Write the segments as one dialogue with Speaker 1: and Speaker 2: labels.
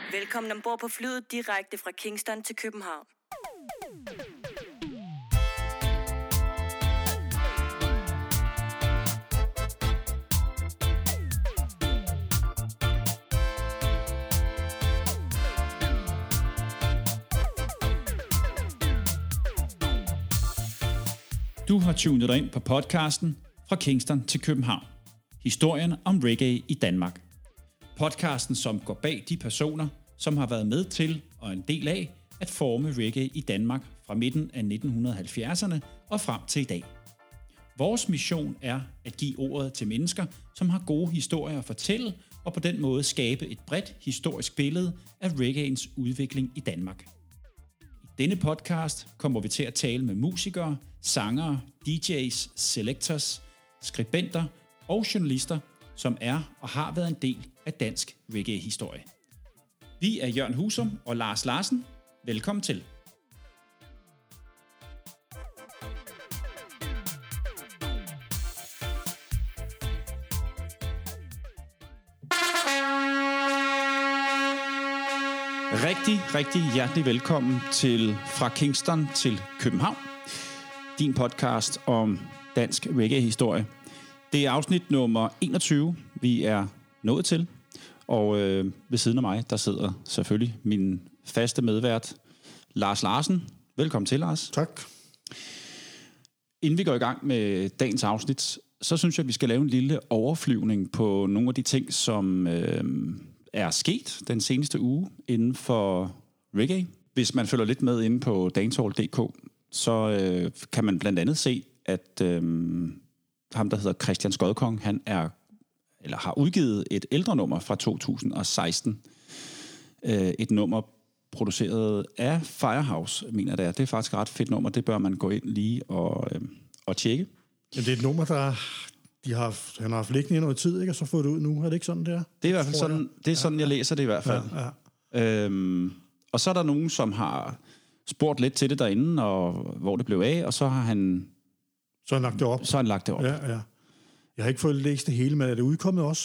Speaker 1: Velkommen ombord på flyet direkte fra Kingston til København.
Speaker 2: Du har tunet dig ind på podcasten Fra Kingston til København. Historien om reggae i Danmark. Podcasten, som går bag de personer, som har været med til og en del af at forme reggae i Danmark fra midten af 1970'erne og frem til i dag. Vores mission er at give ordet til mennesker, som har gode historier at fortælle, og på den måde skabe et bredt historisk billede af reggaeens udvikling i Danmark. I denne podcast kommer vi til at tale med musikere, sangere, DJ's, selectors, skribenter og journalister, som er og har været en del af dansk reggae-historie. Vi er Jørgen Husum og Lars Larsen. Velkommen til. Rigtig hjertelig velkommen til Fra Kingston til København. Din podcast om dansk reggae-historie. Det er afsnit nummer 21, vi er nået til. Og ved siden af mig, der sidder selvfølgelig min faste medvært, Lars Larsen. Velkommen til, Lars.
Speaker 3: Tak.
Speaker 2: Inden vi går i gang med dagens afsnit, så synes jeg, at vi skal lave en lille overflyvning på nogle af de ting, som er sket den seneste uge inden for reggae. Hvis man følger lidt med inde på dancehall.dk, så kan man blandt andet se, at ham, der hedder Christian Skodkong, han har udgivet et ældre nummer fra 2016. Et nummer produceret af Firehouse, mener det er. Det er faktisk et ret fedt nummer. Det bør man gå ind lige og tjekke.
Speaker 3: Ja, det er et nummer, han har haft liggende i noget tid, ikke? Og så fået det ud nu. Er det ikke sådan, det er?
Speaker 2: Det er i hvert fald sådan, det er sådan, jeg læser det i hvert fald. Ja. Og så er der nogen, som har spurgt lidt til det derinde, og hvor det blev af, og så har han...
Speaker 3: Så har han lagt det op.
Speaker 2: Ja.
Speaker 3: Jeg har ikke fået læst det hele, men er det udkommet også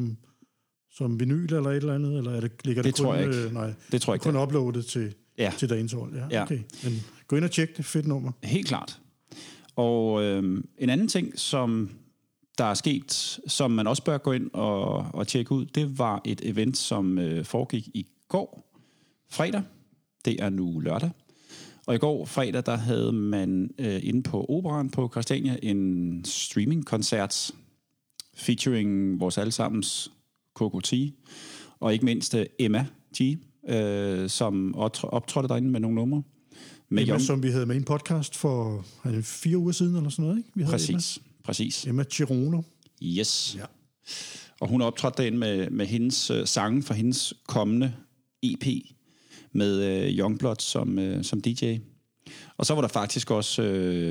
Speaker 3: som vinyl eller et eller andet? Eller ligger det kun,
Speaker 2: tror jeg ikke.
Speaker 3: Nej,
Speaker 2: det tror jeg ikke.
Speaker 3: Kun uploadet til dancehall. Ja, okay. Men gå ind og tjek det. Fedt nummer.
Speaker 2: Helt klart. Og en anden ting, som der er sket, som man også bør gå ind og tjekke ud, det var et event, som foregik i går fredag. Det er nu lørdag. Og i går fredag, der havde man inde på Operaen på Christiania en streaming-koncert featuring vores allesammens Coco T, og ikke mindst Emma G, som optrådte derinde med nogle numre.
Speaker 3: Emma, som vi havde med i en podcast for 4 uger siden, eller sådan noget, ikke? Vi havde
Speaker 2: Præcis.
Speaker 3: Emma Chirono.
Speaker 2: Yes. Ja. Og hun optrådte derinde med hendes sange fra hendes kommende EP, med Youngblood som DJ. Og så var der faktisk også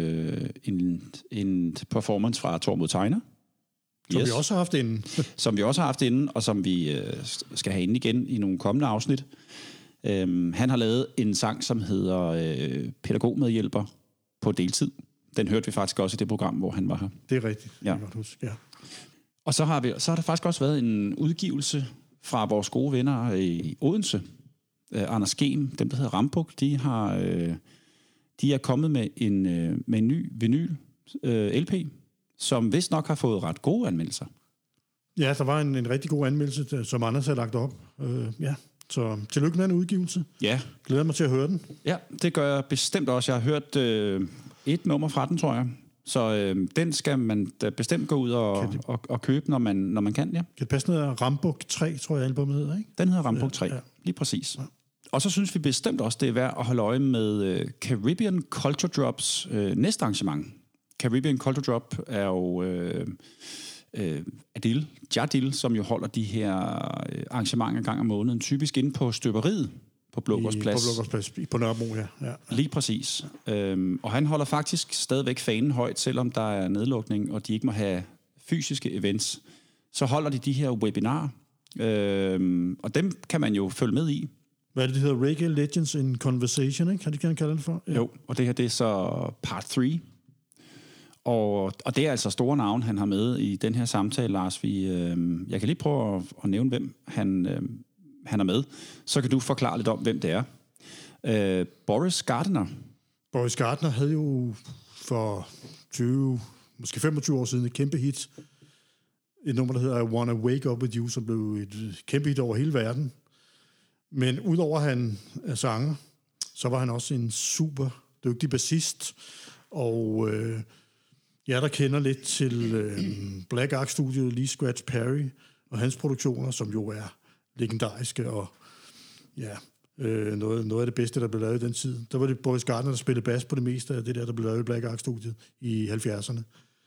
Speaker 2: en performance fra Tormod Tegner.
Speaker 3: Som vi også har haft inden.
Speaker 2: Som vi også har haft inden, og som vi skal have inden igen i nogle kommende afsnit. Han har lavet en sang, som hedder Pædagogmedhjælper på deltid. Den hørte vi faktisk også i det program, hvor han var her.
Speaker 3: Det er rigtigt.
Speaker 2: Ja.
Speaker 3: Ja.
Speaker 2: Og så har der faktisk også været en udgivelse fra vores gode venner i Odense. Anders Gem, dem der hedder Rambuk, de er kommet med en ny vinyl LP, som vist nok har fået ret gode anmeldelser.
Speaker 3: Ja, der var en rigtig god anmeldelse, som Anders havde lagt op. Så tillykke med en udgivelse.
Speaker 2: Ja.
Speaker 3: Glæder mig til at høre den.
Speaker 2: Ja, det gør jeg bestemt også. Jeg har hørt et nummer fra den, tror jeg. Så den skal man bestemt gå ud og købe, når man kan, ja.
Speaker 3: Kan det passe noget Rambuk 3, tror jeg, albumet hedder, ikke?
Speaker 2: Den hedder Rambuk 3, lige præcis. Ja. Og så synes vi bestemt også, det er værd at holde øje med Caribbean Culture Drops næste arrangement. Caribbean Culture Drop er jo Jadil, som jo holder de her arrangementer en gang om måneden, typisk inde på Støberiet på Blågårdsplads.
Speaker 3: På Blågårdsplads, på Nørrebro, ja.
Speaker 2: Lige præcis. Og han holder faktisk stadigvæk fanen højt, selvom der er nedlukning, og de ikke må have fysiske events. Så holder de her webinarer, og dem kan man jo følge med i.
Speaker 3: Hvad er det hedder? Reggae Legends in Conversation, ikke? Har de gerne kaldt det for? Ja.
Speaker 2: Jo, og det her, det er så part 3. Og det er altså store navn, han har med i den her samtale, Lars. Jeg kan lige prøve at nævne, hvem han han er med, så kan du forklare lidt om, hvem det er. Boris Gardiner.
Speaker 3: Boris Gardiner havde jo for 20, måske 25 år siden et kæmpe hit. Et nummer, der hedder I Wanna Wake Up With You, som blev et kæmpe hit over hele verden. Men udover at han er sanger, så var han også en super dygtig bassist. Og jeg der kender lidt til Black Ark-studiet, Lee Scratch Perry og hans produktioner, som jo er legendariske og ja, noget af det bedste, der blev lavet i den tid. Der var det Boris Gardiner, der spillede bas på det meste af det der blev lavet i Black Ark-studiet i 70'erne.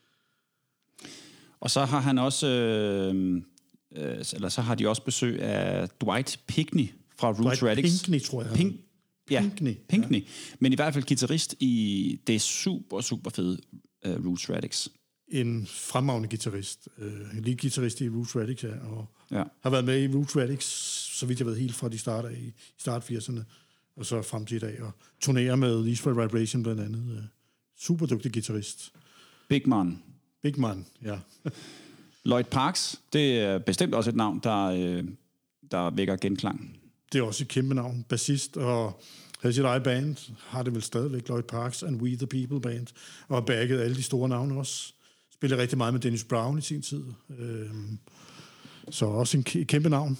Speaker 2: Og så har han også, eller så har de også besøg af Dwight Pinkney fra Roots Radics.
Speaker 3: Pinkney, tror jeg.
Speaker 2: Pinkney. Ja. Men i hvert fald guitarist i det super fede Roots Radics.
Speaker 3: En fremragende guitarist. Lige guitarist i Roots Radics, ja. Og
Speaker 2: ja.
Speaker 3: Har været med i Roots Radics, så vidt jeg ved, helt fra de start 80'erne, og så frem til i dag. Og turnerer med East for Vibration blandt andet. Super dygtig guitarist.
Speaker 2: Big man,
Speaker 3: ja.
Speaker 2: Lloyd Parks, det er bestemt også et navn, der vækker genklang.
Speaker 3: Det er også et kæmpe navn. Bassist og havde sit eget band, har det vel stadigvæk, Lloyd Parks and We The People Band, og har bagget alle de store navne også. Spiller rigtig meget med Dennis Brown i sin tid. Så også en kæmpe navn.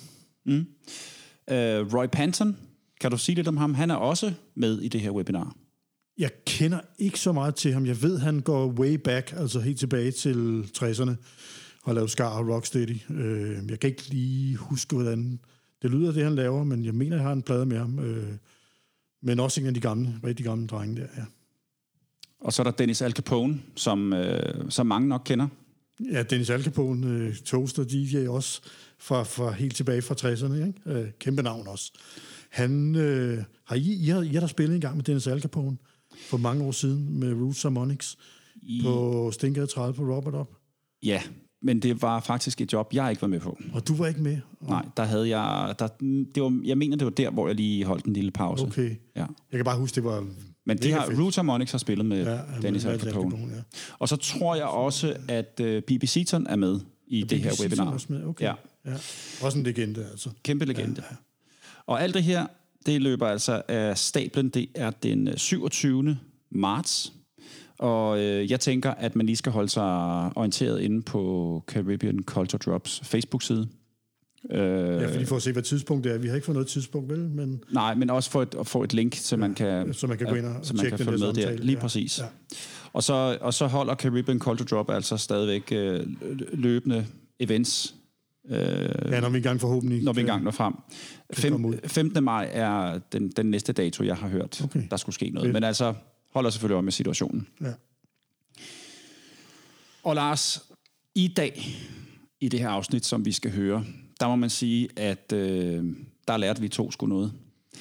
Speaker 2: Roy Panton, kan du sige lidt om ham? Han er også med i det her webinar.
Speaker 3: Jeg kender ikke så meget til ham. Jeg ved, han går way back, altså helt tilbage til 60'erne, og lavet Scar og Rocksteady. Jeg kan ikke lige huske, hvordan det lyder, det han laver, men jeg mener, jeg har en plade med ham. Men også en af de rigtig gamle drenge der, ja. Og
Speaker 2: så er der Dennis Al Capone, som mange nok kender.
Speaker 3: Ja, Dennis Al Capone, toaster DJ også, fra helt tilbage fra 60'erne, ikke? Kæmpe navn også. Han har I der spillet en gang med Dennis Al Capone for mange år siden med Roots Harmonics på Stingade 30 på Robert Up.
Speaker 2: Ja, men det var faktisk et job, jeg ikke var med på.
Speaker 3: Og du var ikke med?
Speaker 2: Nej, der havde jeg... jeg mener, det var der, hvor jeg lige holdt en lille pause.
Speaker 3: Okay. Ja. Jeg kan bare huske, det var...
Speaker 2: Men Roots Harmonics har spillet med Dennis Al Capone. Ja. Og så tror jeg også, at B.B. Seaton er med i det her webinar.
Speaker 3: Også med? Okay. Ja. Også en legende, altså.
Speaker 2: Kæmpe legende. Ja. Og alt det her, det løber altså af stablen. Det er den 27. marts. Og jeg tænker, at man lige skal holde sig orienteret inde på Caribbean Culture Drops Facebook-side.
Speaker 3: Ja, fordi for at se, hvad tidspunkt det er. Vi har ikke fået noget tidspunkt, vel? Men...
Speaker 2: Nej, men også for at få et link, så man kan,
Speaker 3: gå ind og tjekke den
Speaker 2: følge med
Speaker 3: samtale.
Speaker 2: Der. Lige præcis. Ja. Og så holder Caribbean Culture Drop altså stadigvæk løbende events.
Speaker 3: Når vi engang forhåbentlig...
Speaker 2: Når vi engang når frem. 15. maj er den næste dato, jeg har hørt, der skulle ske noget. Men altså, holder selvfølgelig øje med situationen. Ja. Og Lars, i dag, i det her afsnit, som vi skal høre, der må man sige, at der lærte vi to sgu noget.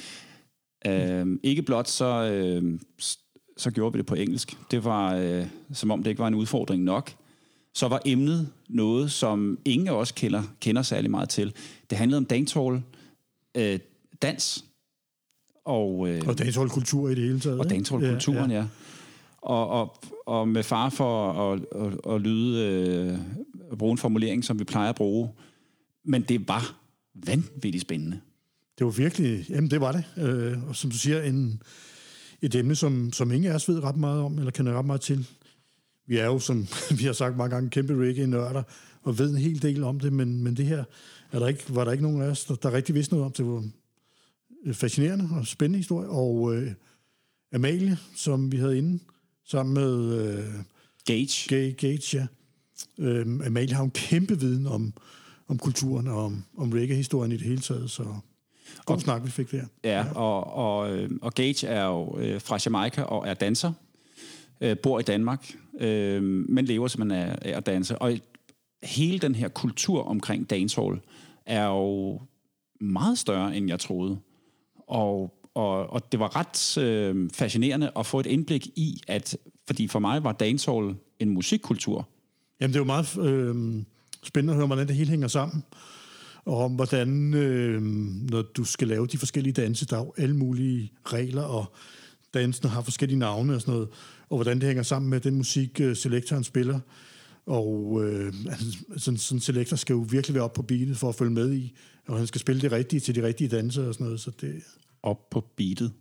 Speaker 2: Ikke blot så gjorde vi det på engelsk. Det var, som om det ikke var en udfordring nok. Så var emnet noget, som ingen af os kender særlig meget til. Det handlede om dancehall, dans og
Speaker 3: dancehall-kultur i det hele taget.
Speaker 2: Og dancehall-kulturen, ja. Og med far for at lyde bruge en formulering, som vi plejer at bruge. Men det var vanvittigt spændende.
Speaker 3: Det var virkelig, jamen det var det. Og som du siger, et emne, som ingen af os ved ret meget om, eller kender ret meget til. Vi er jo, som vi har sagt mange gange, kæmpe reggae-nørder, og ved en hel del om det, men det her var der ikke nogen af os, der rigtig vidste noget om. Det var fascinerende og spændende historie. Og Amalie, som vi havde inde, sammen med Gage, ja. Amalie har en kæmpe viden om kulturen og om reggae-historien i det hele taget, så god snak, vi fik der.
Speaker 2: Ja, og Gage er jo fra Jamaica og er danser, bor i Danmark, men lever simpelthen af at danse. Og hele den her kultur omkring dancehall er jo meget større, end jeg troede. Og det var ret fascinerende at få et indblik i, fordi for mig var dancehall en musikkultur. Jamen,
Speaker 3: det er jo meget spændende at høre, hvordan det hele hænger sammen. Og om hvordan, når du skal lave de forskellige danse, der er jo alle mulige regler, og dansene har forskellige navne og sådan noget, og hvordan det hænger sammen med den musik, selektoren spiller. Og sådan en selektor skal jo virkelig være op på beatet for at følge med i, og han skal spille det rigtige til de rigtige danser og sådan noget, så det...
Speaker 2: Op på beatet.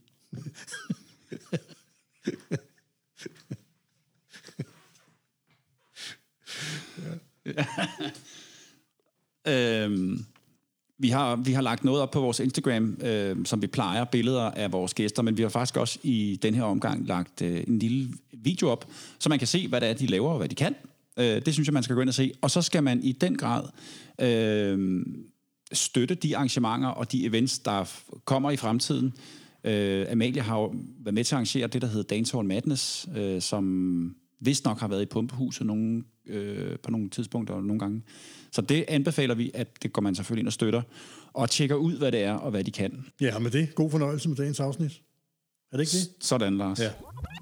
Speaker 2: Vi har lagt noget op på vores Instagram, som vi plejer, billeder af vores gæster, men vi har faktisk også i den her omgang lagt en lille video op, så man kan se, hvad det er, de laver og hvad de kan. Det synes jeg, man skal gå ind og se. Og så skal man i den grad støtte de arrangementer og de events, der kommer i fremtiden. Amalie har jo været med til at arrangere det, der hedder Dancehall Madness, som vist nok har været i Pumpehuset på nogle tidspunkter og nogle gange. Så det anbefaler vi, at det går man selvfølgelig ind og støtter, og tjekker ud, hvad det er og hvad de kan.
Speaker 3: Ja, med det. God fornøjelse med dagens afsnit. Er det ikke det?
Speaker 2: Sådan, Lars. Ja.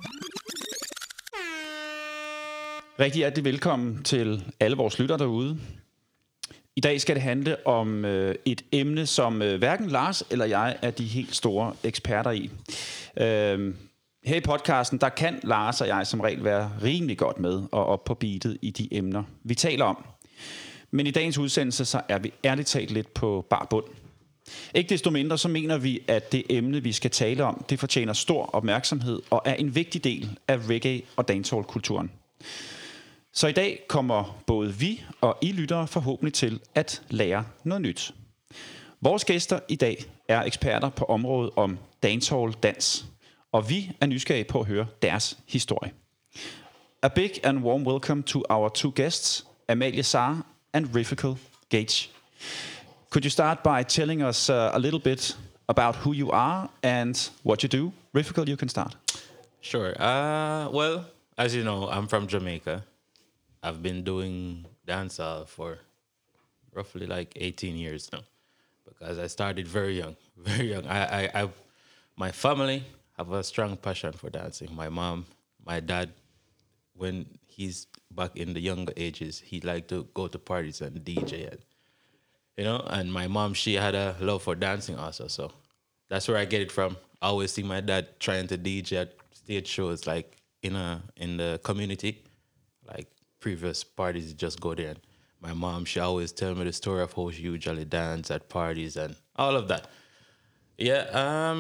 Speaker 2: Rigtig hjertelig velkommen til alle vores lyttere derude. I dag skal det handle om et emne, som hverken Lars eller jeg er de helt store eksperter i. Her i podcasten, der kan Lars og jeg som regel være rimelig godt med og op på beatet i de emner, vi taler om. Men i dagens udsendelse, så er vi ærligt talt lidt på bar bund. Ikke desto mindre, så mener vi, at det emne, vi skal tale om, det fortjener stor opmærksomhed og er en vigtig del af reggae- og dancehall-kulturen. Så i dag kommer både vi og I lyttere forhåbentlig til at lære noget nyt. Vores gæster i dag er eksperter på området om dancehall-dans, og vi er nysgerrige på at høre deres historie. A big and warm welcome to our two guests, Amalie Sarr and Riffical Gage. Could you start by telling us a little bit about who you are and what you do? Riffical, you can start.
Speaker 4: Sure. Well, as you know, I'm from Jamaica. I've been doing dancehall for roughly like 18 years now, because I started very young, very young. My family have a strong passion for dancing. My mom, my dad, when he's back in the younger ages, he liked to go to parties and DJ, and my mom, she had a love for dancing also. So that's where I get it from. I always see my dad trying to DJ at stage shows, like in the community, like previous parties, just go there. And my mom, she always tell me the story of how she usually dance at parties and all of that. Yeah,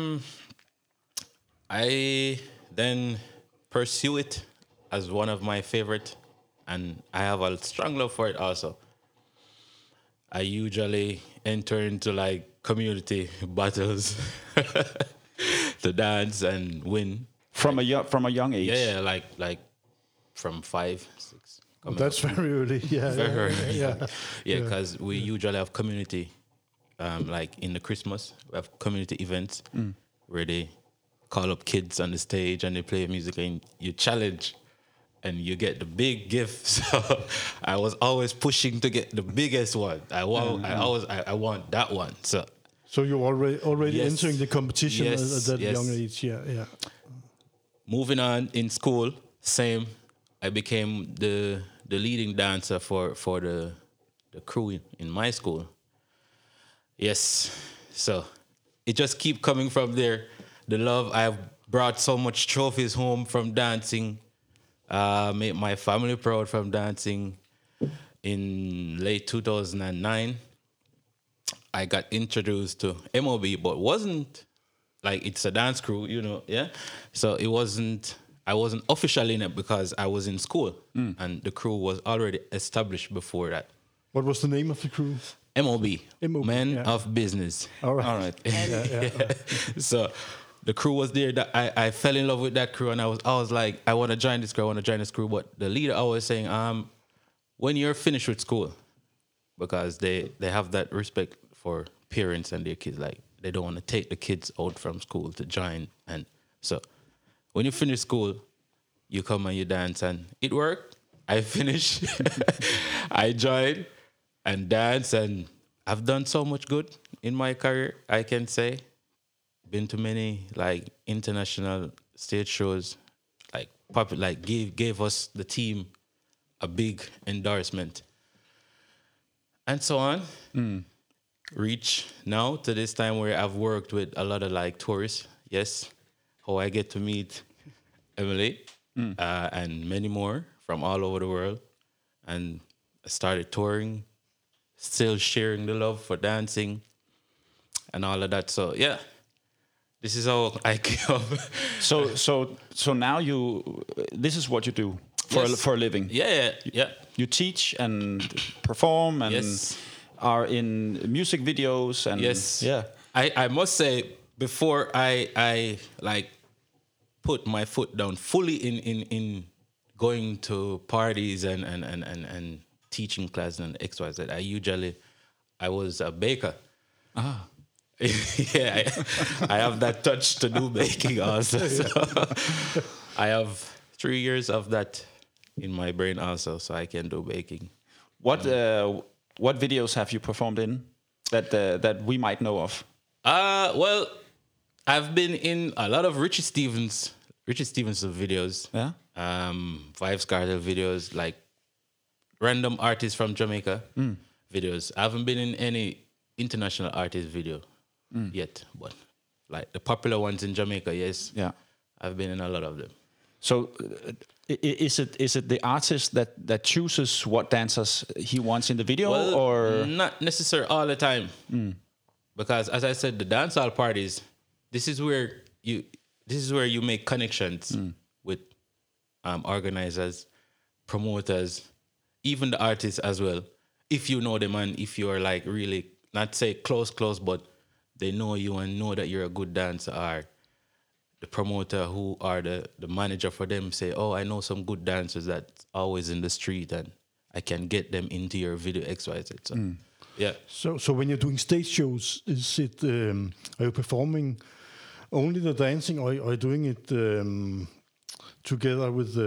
Speaker 4: I then pursue it as one of my favorite, and I have a strong love for it also. I usually enter into like community battles to dance and win.
Speaker 2: From a young age?
Speaker 4: Yeah, like from 5, 6.
Speaker 3: That's very early. Yeah,
Speaker 4: very early. Yeah, because we usually have community, like in the Christmas, we have community events where they call up kids on the stage and they play music and you challenge and you get the big gift. So I was always pushing to get the biggest one. I want that one. So
Speaker 3: you're already
Speaker 4: yes,
Speaker 3: entering the competition at that
Speaker 4: yes.
Speaker 3: young age. Yeah.
Speaker 4: Moving on in school, same. I became the leading dancer for the crew in my school. Yes. So it just keep coming from there. The love, I've brought so much trophies home from dancing. Made my family proud from dancing. In late 2009, I got introduced to MOB, but wasn't like it's a dance crew, yeah. So I wasn't officially in it because I was in school, and the crew was already established before that.
Speaker 3: What was the name of the crew?
Speaker 4: MOB, Men of Business.
Speaker 3: All right.
Speaker 4: Yeah. So the crew was there. That I fell in love with that crew, and I was like, I want to join this crew. But the leader always saying, when you're finished with school, because they have that respect for parents and their kids, like they don't want to take the kids out from school to join. And so when you finish school, you come and you dance, and it worked. I finished. I joined and dance, and I've done so much good in my career, I can say. Been to many like international stage shows, gave us the team a big endorsement, and so on. Reach now to this time where I've worked with a lot of like tourists. Yes, how I get to meet Emily and many more from all over the world, and I started touring, still sharing the love for dancing and all of that. So yeah, this is how I came up.
Speaker 2: So now this is what you do for a living.
Speaker 4: Yeah.
Speaker 2: You teach and perform and
Speaker 4: Yes.
Speaker 2: are in music videos and
Speaker 4: Yes.
Speaker 2: yeah.
Speaker 4: I must say, before I like put my foot down fully in going to parties and teaching class and XYZ, I was a baker. Yeah, I have that touch to do baking also. So I have 3 years of that in my brain also, so I can do baking.
Speaker 2: What videos have you performed in that we might know of?
Speaker 4: Well, I've been in a lot of Richie Stevenson videos.
Speaker 2: Yeah.
Speaker 4: Vybz Kartel videos, like random artists from Jamaica videos. I haven't been in any international artist video yet, but like the popular ones in Jamaica, yes.
Speaker 2: Yeah.
Speaker 4: I've been in a lot of them.
Speaker 2: So is it the artist that chooses what dancers he wants in the video,
Speaker 4: Well,
Speaker 2: or
Speaker 4: not necessarily all the time, because as I said, the dancehall parties, this is where you make connections with organizers, promoters, even the artists as well. If you know them and if you are like really, not say close, but they know you and know that you're a good dancer, or the promoter who are the manager for them say, oh, I know some good dancers that's always in the street and I can get them into your video XYZ. So, yeah.
Speaker 3: So when you're doing stage shows, is it are you performing only the dancing, or are you doing it together with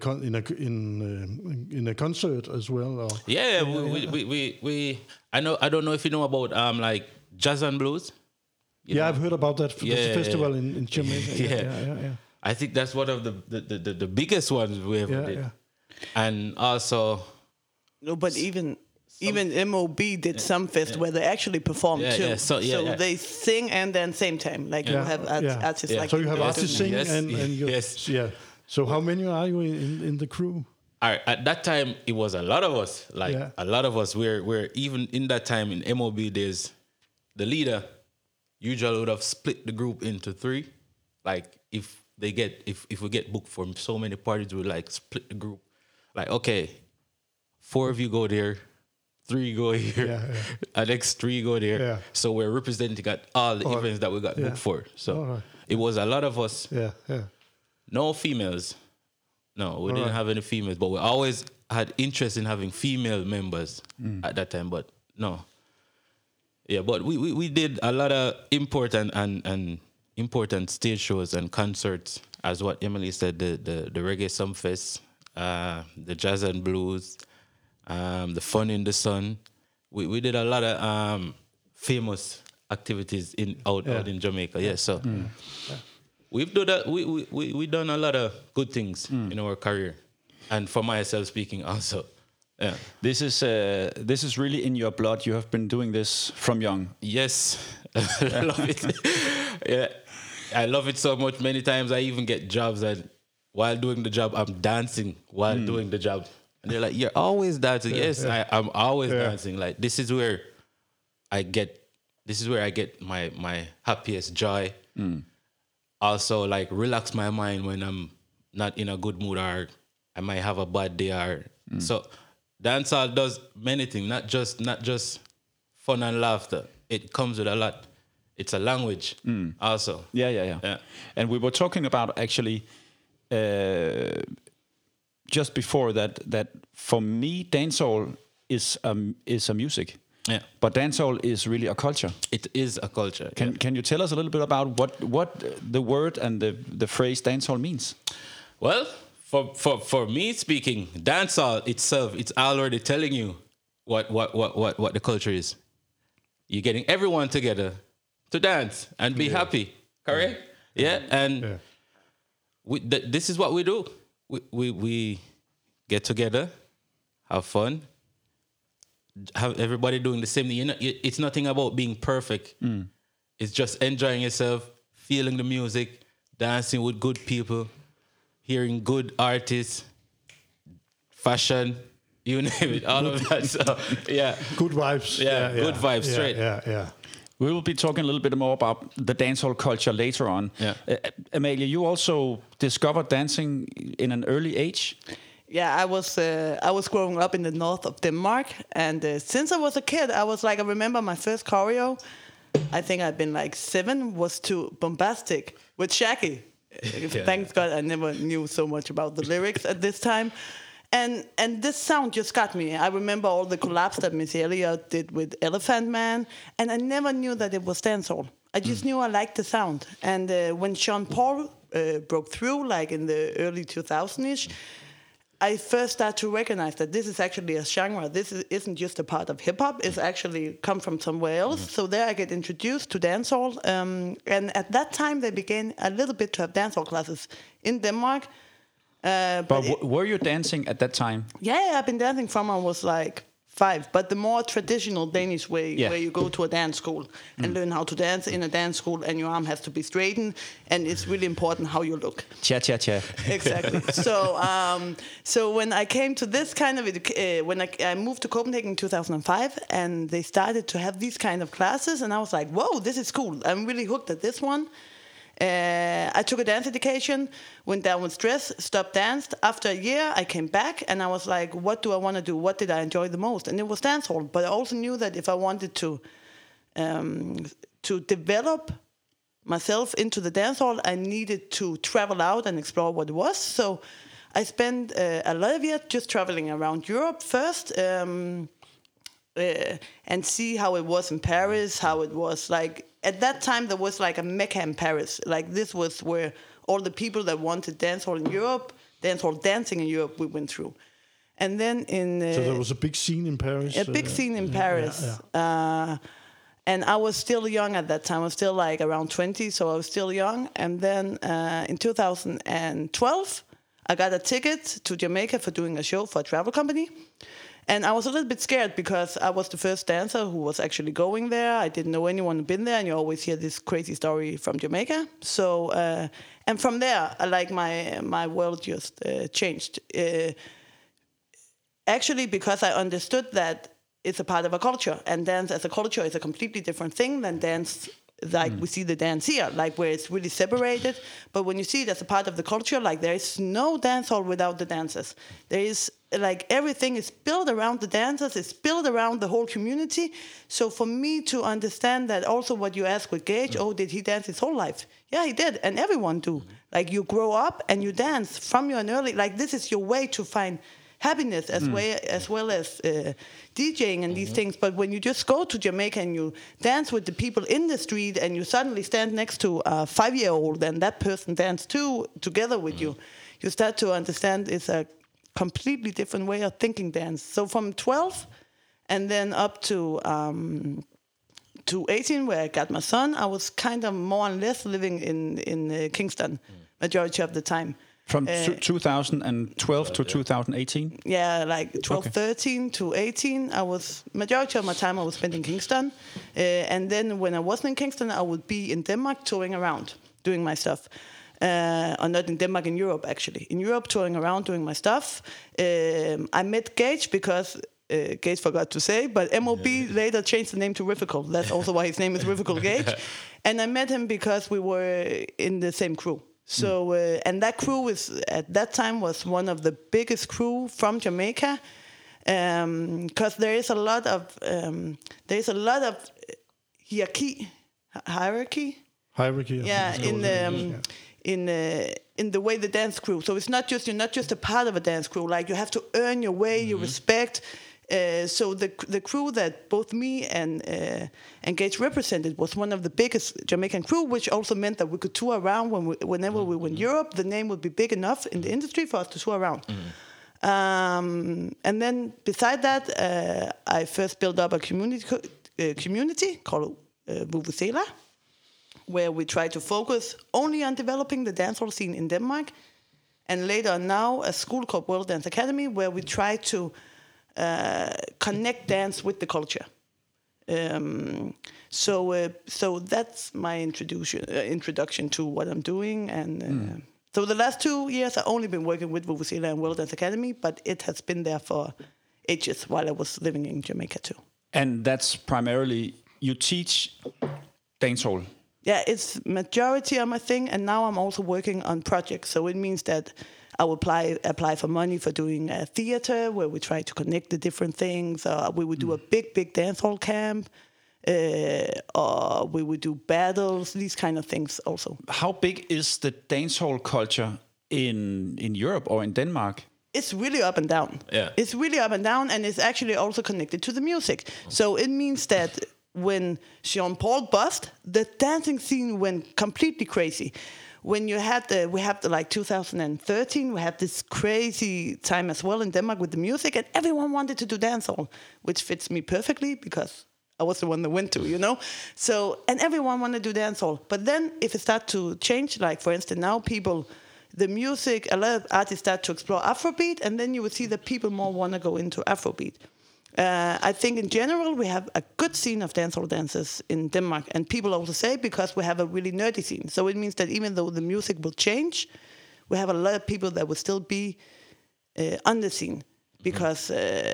Speaker 3: in a concert as well? Or?
Speaker 4: Yeah, we I don't know if you know about like jazz and blues. You know?
Speaker 3: I've heard about that. There's a festival in Jamaica.
Speaker 4: Yeah. I think that's one of the biggest ones we ever did.
Speaker 3: Yeah.
Speaker 4: And also,
Speaker 5: No, but even MOB did some fest where they actually perform too.
Speaker 4: Yeah, so
Speaker 5: they sing and then same time, like you have artists like.
Speaker 3: So you have
Speaker 5: that
Speaker 3: artists
Speaker 5: doing
Speaker 3: sing
Speaker 5: that.
Speaker 3: and you,
Speaker 4: Yes.
Speaker 3: yeah. So how many are you in the crew?
Speaker 4: at that time it was a lot of us. Like a lot of us. We're even in that time in MOB days, the leader usually would have split the group into 3. Like if we get booked for so many parties, we like split the group. Like, okay, 4 of you go there, 3 go here, and next 3 go there.
Speaker 3: Yeah.
Speaker 4: So we're representing at all the events that we got booked for. So it was a lot of us.
Speaker 3: Yeah.
Speaker 4: No females. No, we didn't have any females, but we always had interest in having female members at that time. But no. Yeah, but we did a lot of important and important stage shows and concerts, as what Emily said, the Reggae Sumfest, the Jazz and Blues, the Fun in the Sun. We did a lot of famous activities out in Jamaica. Yeah, so we've done that. We done a lot of good things in our career, and for myself speaking also. Yeah.
Speaker 2: this is really in your blood? You have been doing this from young.
Speaker 4: Yes, I love it. Yeah, I love it so much. Many times I even get jobs and while doing the job, I'm dancing while doing the job. And they're like, "You're always dancing." Yes, I'm always dancing. Like this is where I get my happiest joy. Also, like relax my mind when I'm not in a good mood or I might have a bad day or so. Dancehall does many things, not just fun and laughter. It comes with a lot. It's a language also.
Speaker 2: Yeah. And we were talking about actually just before that for me, dancehall is a music.
Speaker 4: Yeah.
Speaker 2: But dancehall is really a culture.
Speaker 4: It is a culture.
Speaker 2: Can you tell us a little bit about what the word and the phrase dancehall means?
Speaker 4: Well, for me speaking, dancehall itself, it's already telling you what the culture is. You're getting everyone together to dance and be happy. Correct? Yeah. And this is what we do. We get together, have fun, have everybody doing the same thing. It's nothing about being perfect. It's just enjoying yourself, feeling the music, dancing with good people, hearing good artists, fashion, you name it, all of that. So yeah,
Speaker 3: Good vibes.
Speaker 4: good vibes, straight.
Speaker 3: Yeah.
Speaker 2: We will be talking a little bit more about the dancehall culture later on.
Speaker 4: Yeah.
Speaker 2: Amalia, you also discovered dancing in an early age.
Speaker 5: Yeah, I was growing up in the north of Denmark, and since I was a kid, I remember my first choreo. I think I'd been like 7, was to Bombastic with Shaggy. Thanks God I never knew so much about the lyrics at this time. And this sound just got me. I remember all the collabs that Miss Elliott did with Elephant Man, and I never knew that it was dancehall. I just knew I liked the sound. And when Sean Paul broke through, like in the early 2000s-ish, I first started to recognize that this is actually a genre. This isn't just a part of hip-hop. It's actually come from somewhere else. So there I get introduced to dancehall. And at that time, they began a little bit to have dancehall classes in Denmark.
Speaker 2: But were you dancing at that time?
Speaker 5: Yeah, I've been dancing from I was like 5. But the more traditional Danish way, where you go to a dance school and learn how to dance in a dance school, and your arm has to be straightened, and it's really important how you look.
Speaker 2: Cha-cha-cha.
Speaker 5: Exactly. So when I came to this kind of when I moved to Copenhagen in 2005, and they started to have these kind of classes, and I was like, whoa, this is cool. I'm really hooked at this one. I took a dance education, went down with stress, stopped danced. After a year, I came back, and I was like, what do I want to do? What did I enjoy the most? And it was dancehall. But I also knew that if I wanted to develop myself into the dancehall, I needed to travel out and explore what it was. So I spent a lot of years just traveling around Europe first, and see how it was in Paris, how it was like. At that time, there was like a Mecca in Paris. Like this was where all the people that wanted dancehall in Europe, dancehall dancing in Europe, we went through. And then so
Speaker 3: there was a big scene in Paris.
Speaker 5: A big scene in Paris. Yeah. And I was still young at that time. I was still like around 20, so I was still young. And then in 2012, I got a ticket to Jamaica for doing a show for a travel company. And I was a little bit scared because I was the first dancer who was actually going there. I didn't know anyone who'd been there, and you always hear this crazy story from Jamaica. So, and from there, my world just changed. Actually, because I understood that it's a part of a culture, and dance as a culture is a completely different thing than dance like we see the dance here, like where it's really separated. But when you see it as a part of the culture, like there is no dance hall without the dancers. There is like everything is built around the dancers. It's built around the whole community. So for me to understand that, also what you asked with Gage, did he dance his whole life? Yeah, he did, and everyone do. Like you grow up and you dance from your early. Like this is your way to find happiness as well as DJing and these things. But when you just go to Jamaica and you dance with the people in the street, and you suddenly stand next to a 5-year-old and that person dance together with you, you start to understand it's a completely different way of thinking dance. So from 12 and then up to 18, where I got my son, I was kind of more or less living in Kingston majority of the time.
Speaker 2: From 2012 to 2018?
Speaker 5: Yeah, like 12, 13 to 18. Majority of my time I was spent in Kingston. And then when I wasn't in Kingston, I would be in Denmark touring around, doing my stuff. Or not in Denmark, in Europe, actually. In Europe, touring around, doing my stuff. I met Gage because, Gage forgot to say, but MOB later changed the name to Riffical. That's also why his name is Riffical Gage. And I met him because we were in the same crew. So and that crew at that time was one of the biggest crew from Jamaica, because there is a lot of hierarchy. Yeah, in the way the dance crew. So it's not just, you're not just a part of a dance crew. Like you have to earn your way, you respect. So the crew that both me and Gage represented was one of the biggest Jamaican crew, which also meant that we could tour around whenever we went Europe. The name would be big enough in the industry for us to tour around. And then beside that, I first built up a community called Vuvuzela, where we try to focus only on developing the dancehall scene in Denmark. And later on now, a school called World Dance Academy, where we try to connect dance with the culture. So that's my introduction to what I'm doing. And so the last 2 years I've only been working with Vuvuzela and World Dance Academy, but it has been there for ages while I was living in Jamaica too.
Speaker 2: And that's primarily, you teach dancehall.
Speaker 5: Yeah, it's majority of my thing, and now I'm also working on projects. So it means that I will apply for money for doing a theater where we try to connect the different things. We would do a big dancehall camp, or we would do battles, these kind of things also.
Speaker 2: How big is the dancehall culture in Europe or in Denmark?
Speaker 5: It's really up and down.
Speaker 4: Yeah.
Speaker 5: It's really up and down, and it's actually also connected to the music. So it means that when Sean Paul bust, the dancing scene went completely crazy. When you had like 2013, we had this crazy time as well in Denmark with the music, and everyone wanted to do dancehall, which fits me perfectly because I was the one that went to, So, and everyone wanted to do dancehall. But then if it starts to change, like for instance now the music, a lot of artists start to explore Afrobeat, and then you will see that people more want to go into Afrobeat. I think in general we have a good scene of dancehall dancers in Denmark, and people also say because we have a really nerdy scene. So it means that even though the music will change, we have a lot of people that will still be on the scene because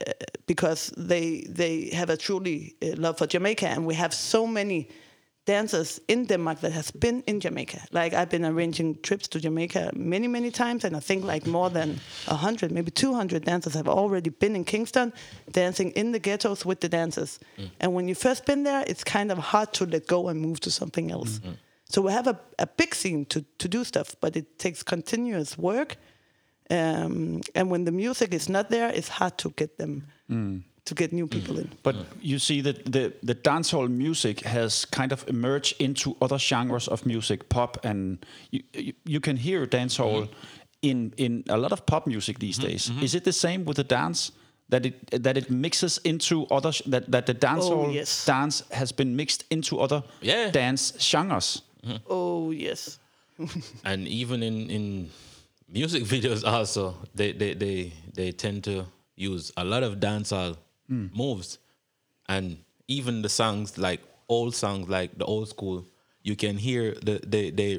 Speaker 5: they have a truly love for Jamaica, and we have so many dancers in Denmark that has been in Jamaica. Like I've been arranging trips to Jamaica many times, and I think like more than 100, maybe 200 dancers have already been in Kingston dancing in the ghettos with the dancers. And when you first been there, it's kind of hard to let go and move to something else. So we have a big scene to do stuff, but it takes continuous work. And when the music is not there, it's hard to get them to get new people in.
Speaker 2: But you see that the dancehall music has kind of emerged into other genres of music, pop, and you can hear dancehall in a lot of pop music these days. Is it the same with the dance? That it mixes into other that the dancehall dance has been mixed into other dance genres.
Speaker 5: Oh yes.
Speaker 4: And even in music videos also, they tend to use a lot of dancehall moves, and even the songs like old songs like the old school, you can hear they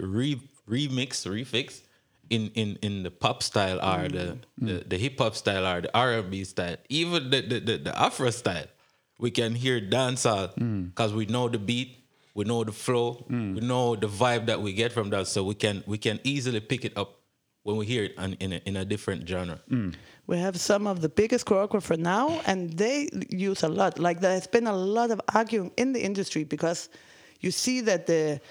Speaker 4: refix in the pop style or the hip hop style or the R&B style, even the Afro style. We can hear dancehall because we know the beat, we know the flow, we know the vibe that we get from that, so we can easily pick it up when we hear it in a different genre.
Speaker 5: We have some of the biggest choreographers now, and they use a lot. Like there has been a lot of arguing in the industry because you see that the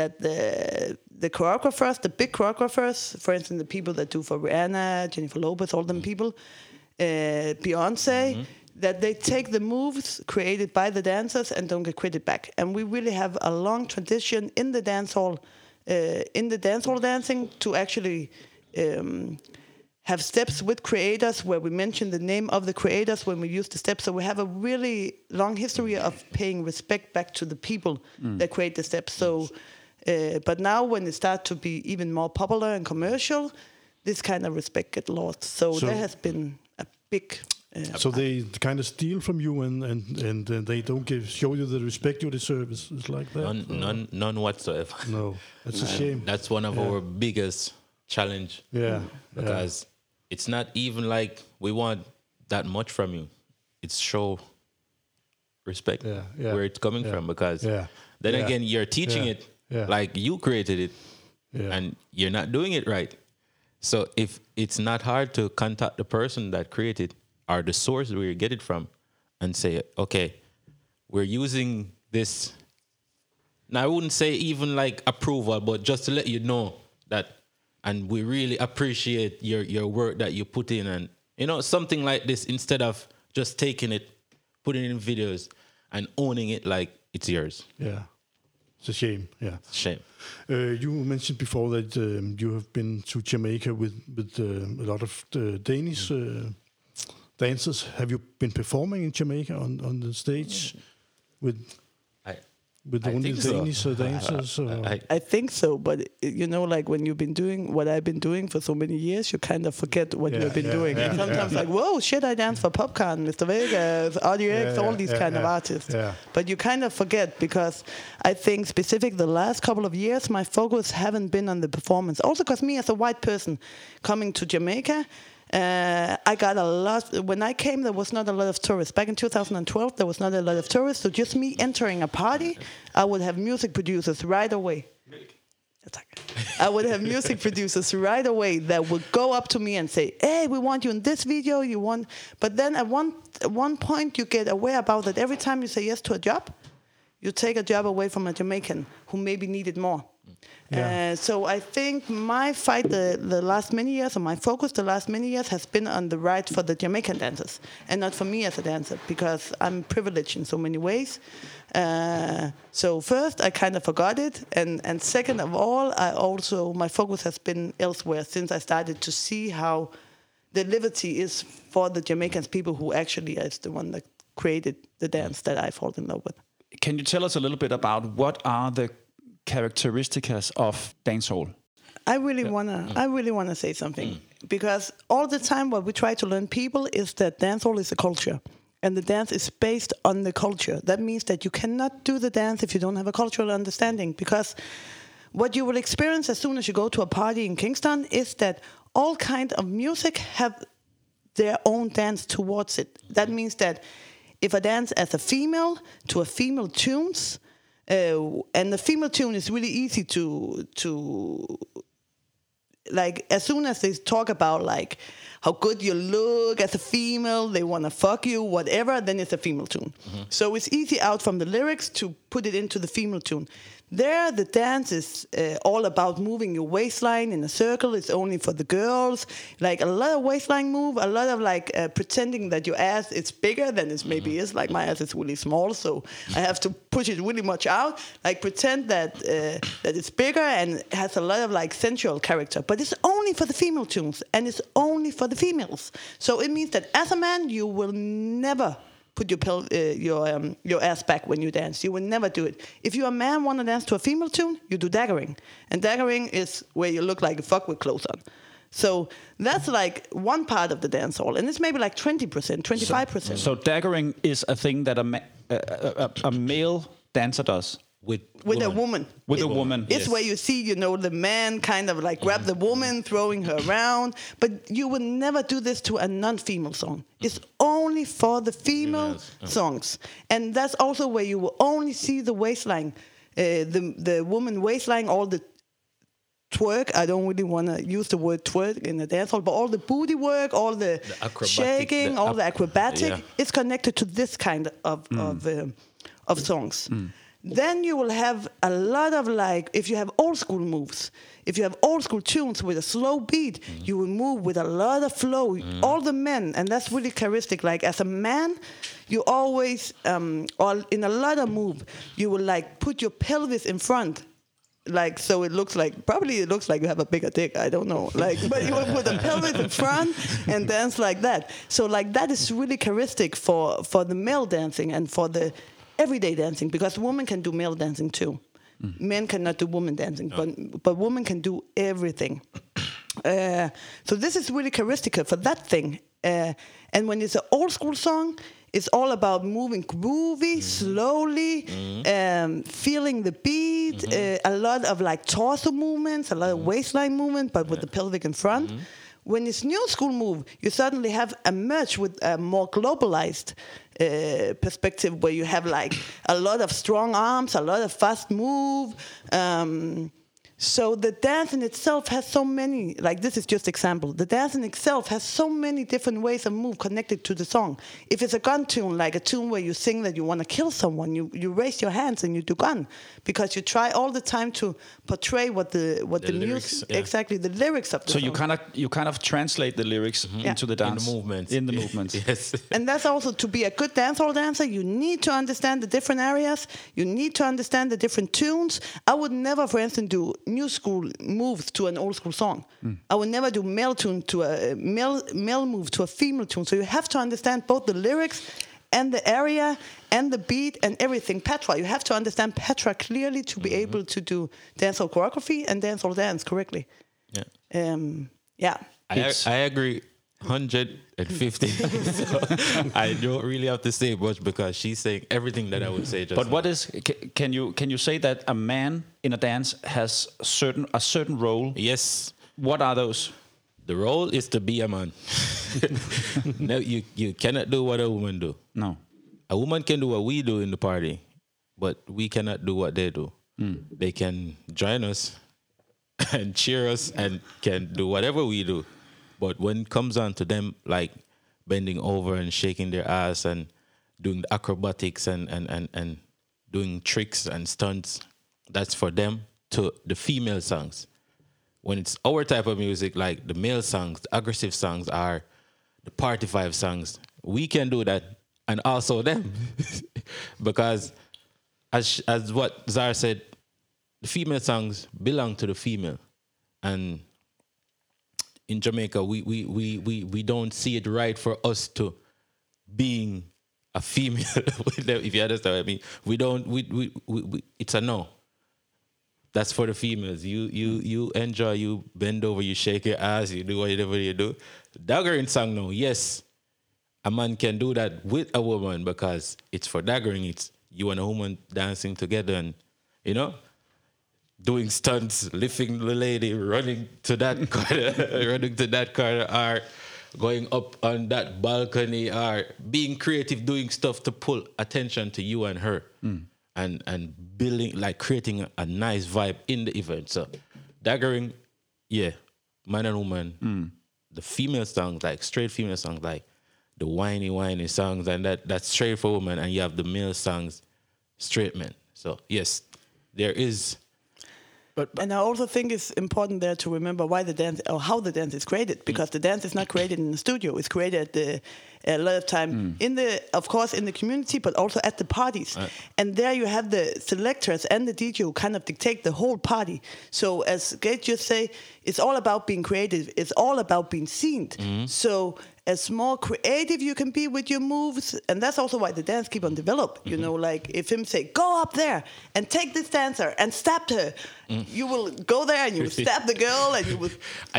Speaker 5: choreographers, the big choreographers, for instance, the people that do for Rihanna, Jennifer Lopez, all them people, Beyonce, that they take the moves created by the dancers and don't get credit back. And we really have a long tradition in the dancehall dancing to actually have steps with creators where we mention the name of the creators when we use the steps. So we have a really long history of paying respect back to the people that create the steps. So, but now when it starts to be even more popular and commercial, this kind of respect gets lost. So there has been a big...
Speaker 3: so they kind of steal from you and they don't show you the respect you deserve. It's like that?
Speaker 4: None whatsoever.
Speaker 3: No, that's a shame.
Speaker 4: That's one of our biggest challenge.
Speaker 3: Yeah.
Speaker 4: Because it's not even like we want that much from you. It's show respect where it's coming from, because then again, you're teaching it like you created it and you're not doing it right. So if it's not hard to contact the person that created or the source where you get it from and say, okay, we're using this. Now, I wouldn't say even like approval, but just to let you know that, and we really appreciate your work that you put in, and something like this, instead of just taking it, putting it in videos and owning it like it's yours.
Speaker 3: Yeah, it's a shame. Yeah,
Speaker 4: it's a shame.
Speaker 3: You mentioned before that you have been to Jamaica with a lot of Danish dancers. Have you been performing in Jamaica on the stage with only Danish dancers?
Speaker 5: I think so, but like when you've been doing what I've been doing for so many years, you kind of forget what you've been doing. And sometimes like, whoa, shit, I danced for Popcorn, Mr. Vegas, RDX, all these kind of artists. Yeah. But you kind of forget, because I think specific the last couple of years, my focus haven't been on the performance. Also because me as a white person coming to Jamaica I got a lot. When I came, there was not a lot of tourists. Back in 2012, there was not a lot of tourists. So just me entering a party, I would have music producers right away. I would have music producers right away that would go up to me and say, "Hey, we want you in this video. You want." But then at one point, you get aware about that. Every time you say yes to a job, you take a job away from a Jamaican who maybe needed more.
Speaker 3: Yeah.
Speaker 5: So I think my fight the last many years, or my focus the last many years, has been on the right for the Jamaican dancers, and not for me as a dancer, because I'm privileged in so many ways. So first, I kind of forgot it, and second of all, my focus has been elsewhere since I started to see how the liberty is for the Jamaicans, people who actually is the one that created the dance that I fall in love with.
Speaker 2: Can you tell us a little bit about what are the characteristics of dancehall?
Speaker 5: I really wanna say something, because all the time what we try to learn people is that dancehall is a culture, and the dance is based on the culture. That means that you cannot do the dance if you don't have a cultural understanding, because what you will experience as soon as you go to a party in Kingston is that all kind of music have their own dance towards it. That means that if I dance as a female to a female tunes, and the female tune is really easy to like, as soon as they talk about like how good you look as a female, they want to fuck you, whatever, then it's a female tune. So it's easy out from the lyrics to put it into the female tune. There, the dance is all about moving your waistline in a circle. It's only for the girls. Like a lot of waistline move, a lot of like pretending that your ass is bigger than it maybe is. Like my ass is really small, so I have to push it really much out. Like pretend that that it's bigger and has a lot of like sensual character. But it's only for the female tunes, and it's only for the females. So it means that as a man, you will never put your ass back when you dance. You will never do it. If you're a man want to dance to a female tune, you do daggering. And daggering is where you look like a fuck with clothes on. So that's like one part of the dance hall. And it's maybe like 20%, 25%.
Speaker 2: So daggering is a thing that a male dancer does?
Speaker 5: With a woman.
Speaker 2: With a woman.
Speaker 5: It's where you see, the man kind of like grab the woman, throwing her around. But you would never do this to a non-female song. It's only for the female songs. And that's also where you will only see the waistline, the woman waistline, all the twerk. I don't really want to use the word twerk in the dance hall, but all the booty work, all the shaking, all the acrobatic, it's connected to this kind of songs. Then you will have a lot of like, if you have old school moves, if you have old school tunes with a slow beat, you will move with a lot of flow. All the men, and that's really characteristic. Like as a man, you always, or in a lot of move, you will like put your pelvis in front. Like, so it looks like you have a bigger dick, I don't know. Like, but you will put the pelvis in front and dance like that. So like that is really characteristic for the male dancing and for the everyday dancing, because women can do male dancing too. Men cannot do woman dancing, but women can do everything. So this is really characteristic for that thing. And when it's an old school song, it's all about moving groovy, slowly, feeling the beat, a lot of like torso movements, a lot of waistline movement, but with the pelvic in front. When it's new school move, you suddenly have a merge with a more globalized perspective, where you have like a lot of strong arms, a lot of fast move. So the dance in itself has so many, like this is just example, the dance in itself has so many different ways of move connected to the song. If it's a gun tune, like a tune where you sing that you want to kill someone, you raise your hands and you do gun, because you try all the time to portray what the lyrics, exactly the lyrics of the song.
Speaker 2: So you kind of translate the lyrics into the dance.
Speaker 4: In the movements.
Speaker 2: Yes.
Speaker 5: And that's also, to be a good dancehall dancer, you need to understand the different areas. You need to understand the different tunes. I would never, for instance, do new school moves to an old school song. I would never do male tune to a male move to a female tune. So you have to understand both the lyrics and the area and the beat and everything. Patois, you have to understand patois clearly to be able to do dancehall choreography and dancehall dance correctly.
Speaker 4: I agree 150. So I don't really have to say much, because she's saying everything that I would say. Just
Speaker 2: but what is? Can you say that a man in a dance has a certain role?
Speaker 4: Yes.
Speaker 2: What are those?
Speaker 4: The role is to be a man. No, you cannot do what a woman do.
Speaker 2: No.
Speaker 4: A woman can do what we do in the party, but we cannot do what they do. They can join us and cheer us and can do whatever we do. But when it comes on to them, like bending over and shaking their ass and doing the acrobatics and doing tricks and stunts, that's for them to the female songs. When it's our type of music, like the male songs, the aggressive songs are the party vibe songs, we can do that, and also them. Because as what Zara said, the female songs belong to the female. And in Jamaica, we don't see it right for us to being a female, if you understand what I mean. We don't, we it's a no. That's for the females. You enjoy, you bend over, you shake your ass, you do whatever you do. Daggering song, no. Yes, a man can do that with a woman because it's for daggering. It's you and a woman dancing together and, you know, doing stunts, lifting the lady, running to that corner, or going up on that balcony, or being creative, doing stuff to pull attention to you and her. And building, like creating a nice vibe in the event. So daggering, yeah, man and woman. The female songs, like straight female songs, like the whiny songs, and that's straight for women, and you have the male songs, straight men. So yes, there is.
Speaker 5: And I also think it's important there to remember why the dance, or how the dance is created, because the dance is not created in the studio. It's created a lot of time of course, in the community, but also at the parties. And there you have the selectors and the DJ who kind of dictate the whole party. So as Gage just say, it's all about being creative. It's all about being seen. So as more creative you can be with your moves, and that's also why the dance keep on develop. You know, like if him say, go up there and take this dancer and stab her, you will go there and you will stab the girl, and you will...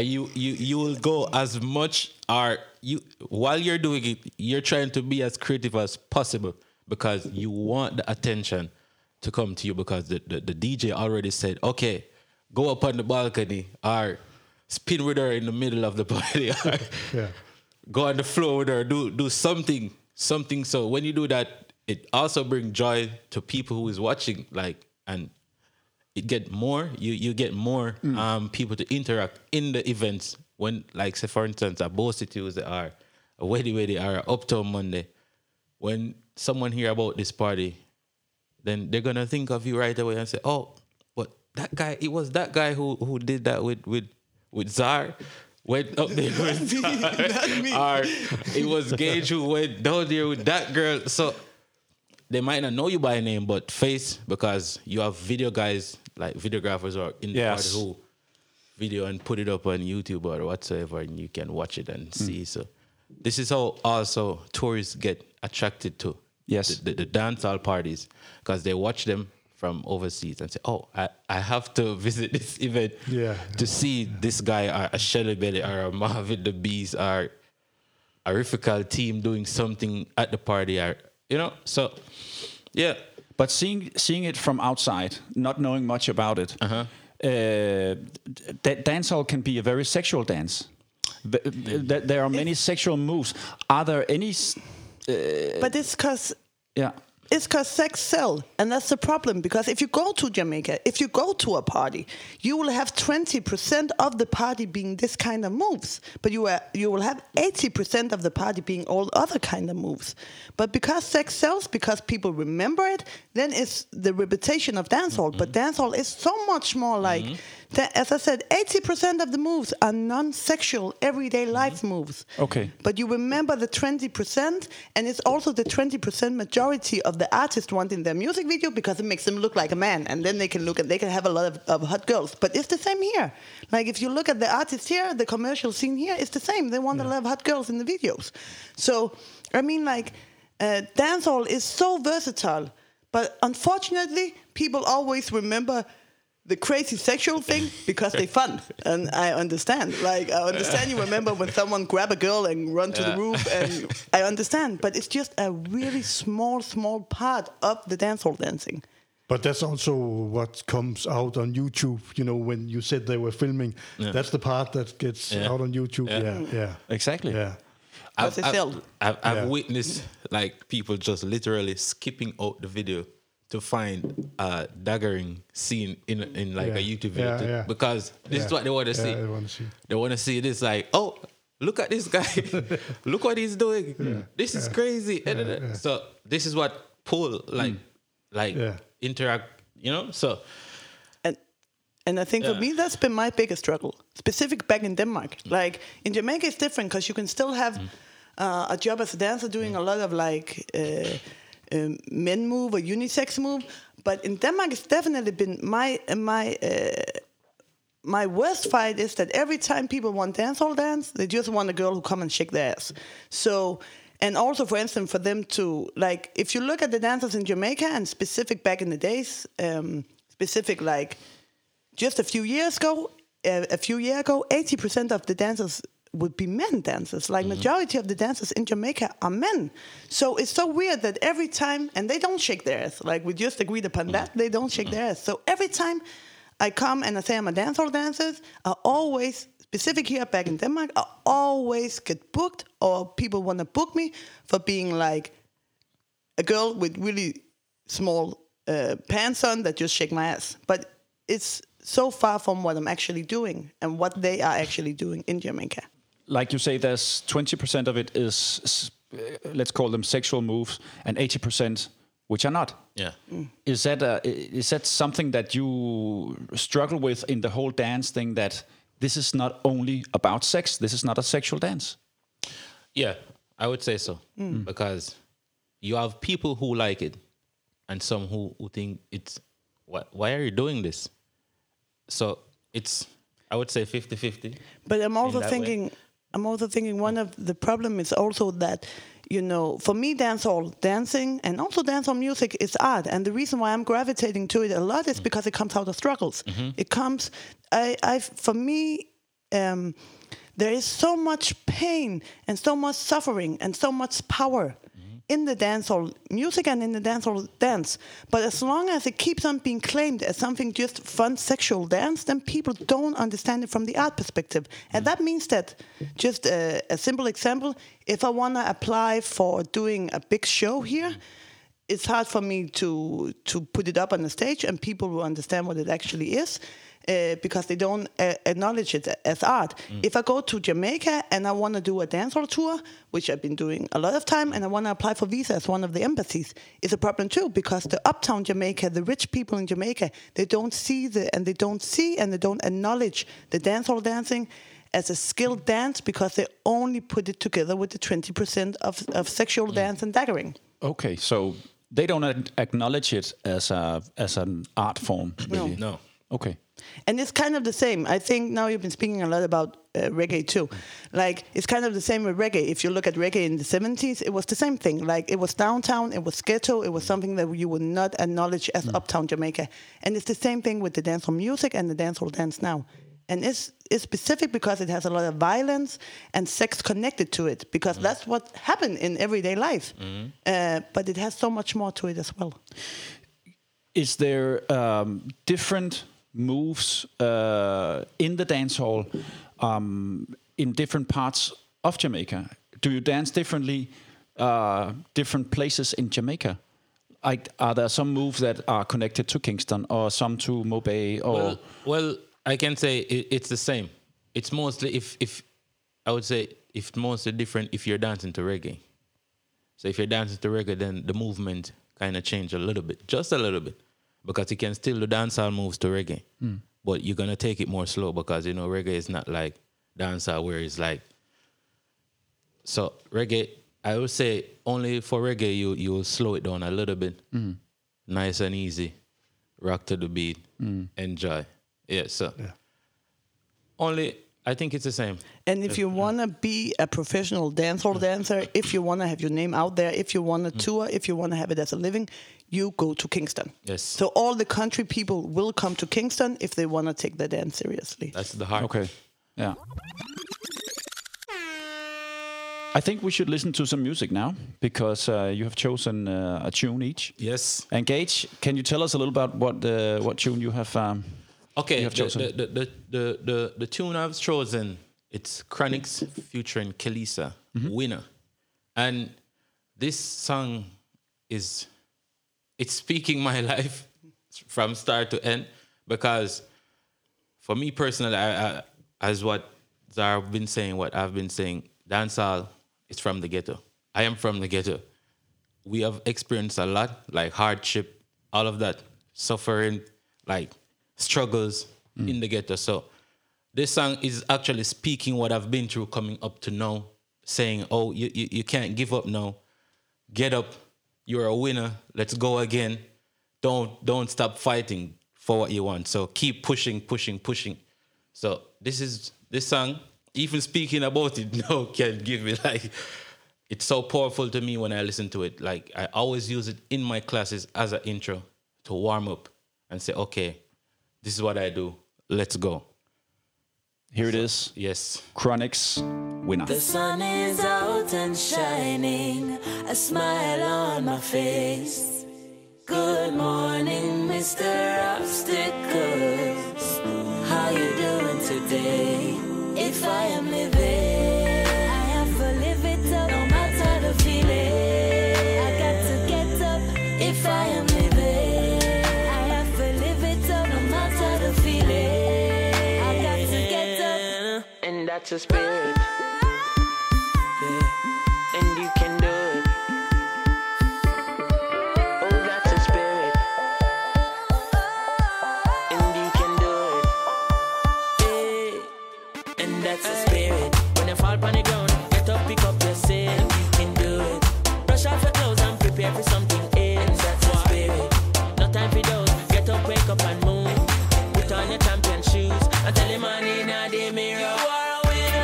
Speaker 4: you will go as much, or you while you're doing it, you're trying to be as creative as possible because you want the attention to come to you, because the DJ already said, okay, go up on the balcony or spin with her in the middle of the party, or go on the floor with her, do something. So when you do that, it also brings joy to people who is watching, like, and it get more, you get more people to interact in the events. When, like, say for instance, a Bossy Tuesday or a Weddy or a Uptown Monday, when someone hear about this party, then they're gonna think of you right away and say, oh, but that guy, it was that guy who did that with Zar, went up there with Zar, or it was Gage who went down there with that girl. So they might not know you by name, but face, because you have video guys, like videographers or in the party who video and put it up on YouTube or whatsoever, and you can watch it and see. So this is how also tourists get attracted to the dancehall parties, because they watch them from overseas and say, oh, I have to visit this event to see this guy, or a Shelly Belly, or a Marvin the Beast, or a Rifical team doing something at the party, or, you know, so yeah.
Speaker 2: But seeing it from outside, not knowing much about it, dancehall can be a very sexual dance. There are many sexual moves. Are there any?
Speaker 5: But it's because it's because sex sells, and that's the problem. Because if you go to Jamaica, if you go to a party, you will have 20% of the party being this kind of moves, but you will have 80% of the party being all other kind of moves. But because sex sells, because people remember it, then it's the reputation of dancehall. But dancehall is so much more like, as I said, 80% of the moves are non-sexual, everyday life moves.
Speaker 2: Okay.
Speaker 5: But you remember the 20%, and it's also the 20% majority of the artist want in their music video, because it makes them look like a man, and then they can have a lot of hot girls. But it's the same here. Like if you look at the artists here, the commercial scene here, it's the same. They want a lot of hot girls in the videos. So, I mean, like, dancehall is so versatile, but unfortunately, people always remember the crazy sexual thing because they're fun. And I understand. Like, I understand you remember when someone grab a girl and run to the roof, and I understand. But it's just a really small part of the dancehall dancing.
Speaker 3: But that's also what comes out on YouTube. You know, when you said they were filming, that's the part that gets out on YouTube. Yeah.
Speaker 2: Exactly.
Speaker 3: Yeah.
Speaker 4: I've witnessed like people just literally skipping out the video to find a daggering scene in like a YouTube video because this is what they want to see. They want to see this like, oh, look at this guy, look what he's doing. This is crazy. So this is what pull interact, you know. So
Speaker 5: and I think for me that's been my biggest struggle, specific back in Denmark. Like in Jamaica it's different because you can still have a job as a dancer doing a lot of like men move or unisex move, but in Denmark it's definitely been my worst fight is that every time people want dancehall dance, they just want a girl who come and shake their ass. So, and also, for instance, for them to, like, if you look at the dancers in Jamaica and specific back in the days, specific like just a few years ago, 80% of the dancers would be men dancers. Like majority of the dancers in Jamaica are men. So it's so weird that every time, and they don't shake their ass. Like we just agreed upon that, they don't shake their ass. So every time I come and I say I'm a dancehall dancer, I always, specific here back in Denmark, I always get booked or people want to book me for being like a girl with really small pants on that just shake my ass. But it's so far from what I'm actually doing and what they are actually doing in Jamaica.
Speaker 2: Like you say, there's 20% of it is, let's call them sexual moves, and 80% which are not.
Speaker 4: Yeah.
Speaker 2: Is that something that you struggle with in the whole dance thing, that this is not only about sex, this is not a sexual dance?
Speaker 4: Yeah, I would say so. Because you have people who like it and some who think it's, why are you doing this? So it's, I would say 50-50.
Speaker 5: But I'm also thinking one of the problem is also that, you know, for me, dancehall dancing and also dancehall music is art. And the reason why I'm gravitating to it a lot is because it comes out of struggles. It comes, for me, there is so much pain and so much suffering and so much power in the dancehall music and in the dancehall dance. But as long as it keeps on being claimed as something just fun sexual dance, then people don't understand it from the art perspective. And that means that, just a simple example, if I want to apply for doing a big show here, it's hard for me to put it up on the stage and people will understand what it actually is. Because they don't acknowledge it as art. If I go to Jamaica and I want to do a dancehall tour, which I've been doing a lot of time, and I want to apply for visa as one of the embassies, it's a problem too, because the uptown Jamaica, the rich people in Jamaica, they don't acknowledge the dancehall dancing as a skilled dance because they only put it together with the 20% of sexual dance and daggering.
Speaker 2: Okay, so they don't acknowledge it as an art form, really?
Speaker 4: No.
Speaker 2: Okay.
Speaker 5: And it's kind of the same. I think now you've been speaking a lot about reggae too. Like, it's kind of the same with reggae. If you look at reggae in the 70s, it was the same thing. Like, it was downtown, it was ghetto, it was something that you would not acknowledge as uptown Jamaica. And it's the same thing with the dancehall music and the dancehall dance now. And it's specific because it has a lot of violence and sex connected to it, because that's what happened in everyday life. But it has so much more to it as well.
Speaker 2: Is there different moves in the dance hall in different parts of Jamaica? Do you dance differently different places in Jamaica? Are there some moves that are connected to Kingston or some to Mobay? Or
Speaker 4: well, I can say it's the same. It's mostly if I would say it's mostly different if you're dancing to reggae. So if you're dancing to reggae, then the movement kind of change a little bit, just a little bit. Because you can still do dancehall moves to reggae, but you're gonna take it more slow because you know reggae is not like dancehall where it's like. So reggae, I would say only for reggae you will slow it down a little bit, nice and easy, rock to the beat, enjoy. Yeah, so only I think it's the same.
Speaker 5: And if you want to be a professional dancehall dancer, if you want to have your name out there, if you want to tour, if you want to have it as a living, you go to Kingston.
Speaker 4: Yes.
Speaker 5: So all the country people will come to Kingston if they want to take their dance seriously.
Speaker 4: That's the heart.
Speaker 2: Okay. Yeah. I think we should listen to some music now because you have chosen a tune each.
Speaker 4: Yes.
Speaker 2: And Gage, can you tell us a little about what tune you have?
Speaker 4: Okay.
Speaker 2: You have chosen?
Speaker 4: The tune I've chosen, it's Chronixx featuring Kelisa, Winner, and this song it's speaking my life from start to end, because for me personally, I as what Zara been saying, what I've been saying, dancehall is from the ghetto. I am from the ghetto. We have experienced a lot, like hardship, all of that, suffering, like struggles in the ghetto. So this song is actually speaking what I've been through coming up to now, saying, oh, you can't give up now. Get up. You're a winner. Let's go again. Don't stop fighting for what you want. So keep pushing. So this song, even speaking about it now, can give me like, it's so powerful to me when I listen to it. Like I always use it in my classes as an intro to warm up and say, okay, this is what I do. Let's go.
Speaker 2: Here it is.
Speaker 4: Yes.
Speaker 2: Chronixx, Winner.
Speaker 6: The sun is out and shining, a smile on my face. Good morning, Mr. Obstacles. How you doing today? If I am living, I have to live it up, no matter the feeling. I got to get up. If I am living, I have to live it up, no matter the feeling. I got to get up, and that's a spirit. Yeah. And you can do it. Oh, that's a spirit. And you can do it. Yeah. And that's a spirit. When you fall on the ground, get up, pick up your sin. You can do it. Brush off your clothes and prepare for something else. That's a spirit. No time for those. Get up, wake up and move. Put on your champion shoes and tell your man in the mirror. You are a winner.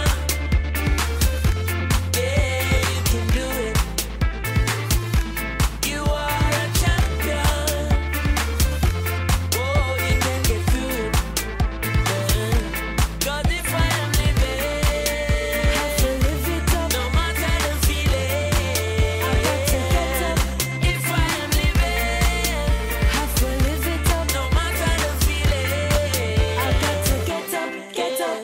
Speaker 6: Yeah, you can do it. You are a champion. Oh, you can get through it. Yeah. 'Cause if I am living, have to live it up, no matter the feeling. I got to get up. If I am living, have to live it up, no matter the feeling. I got to get up, get up.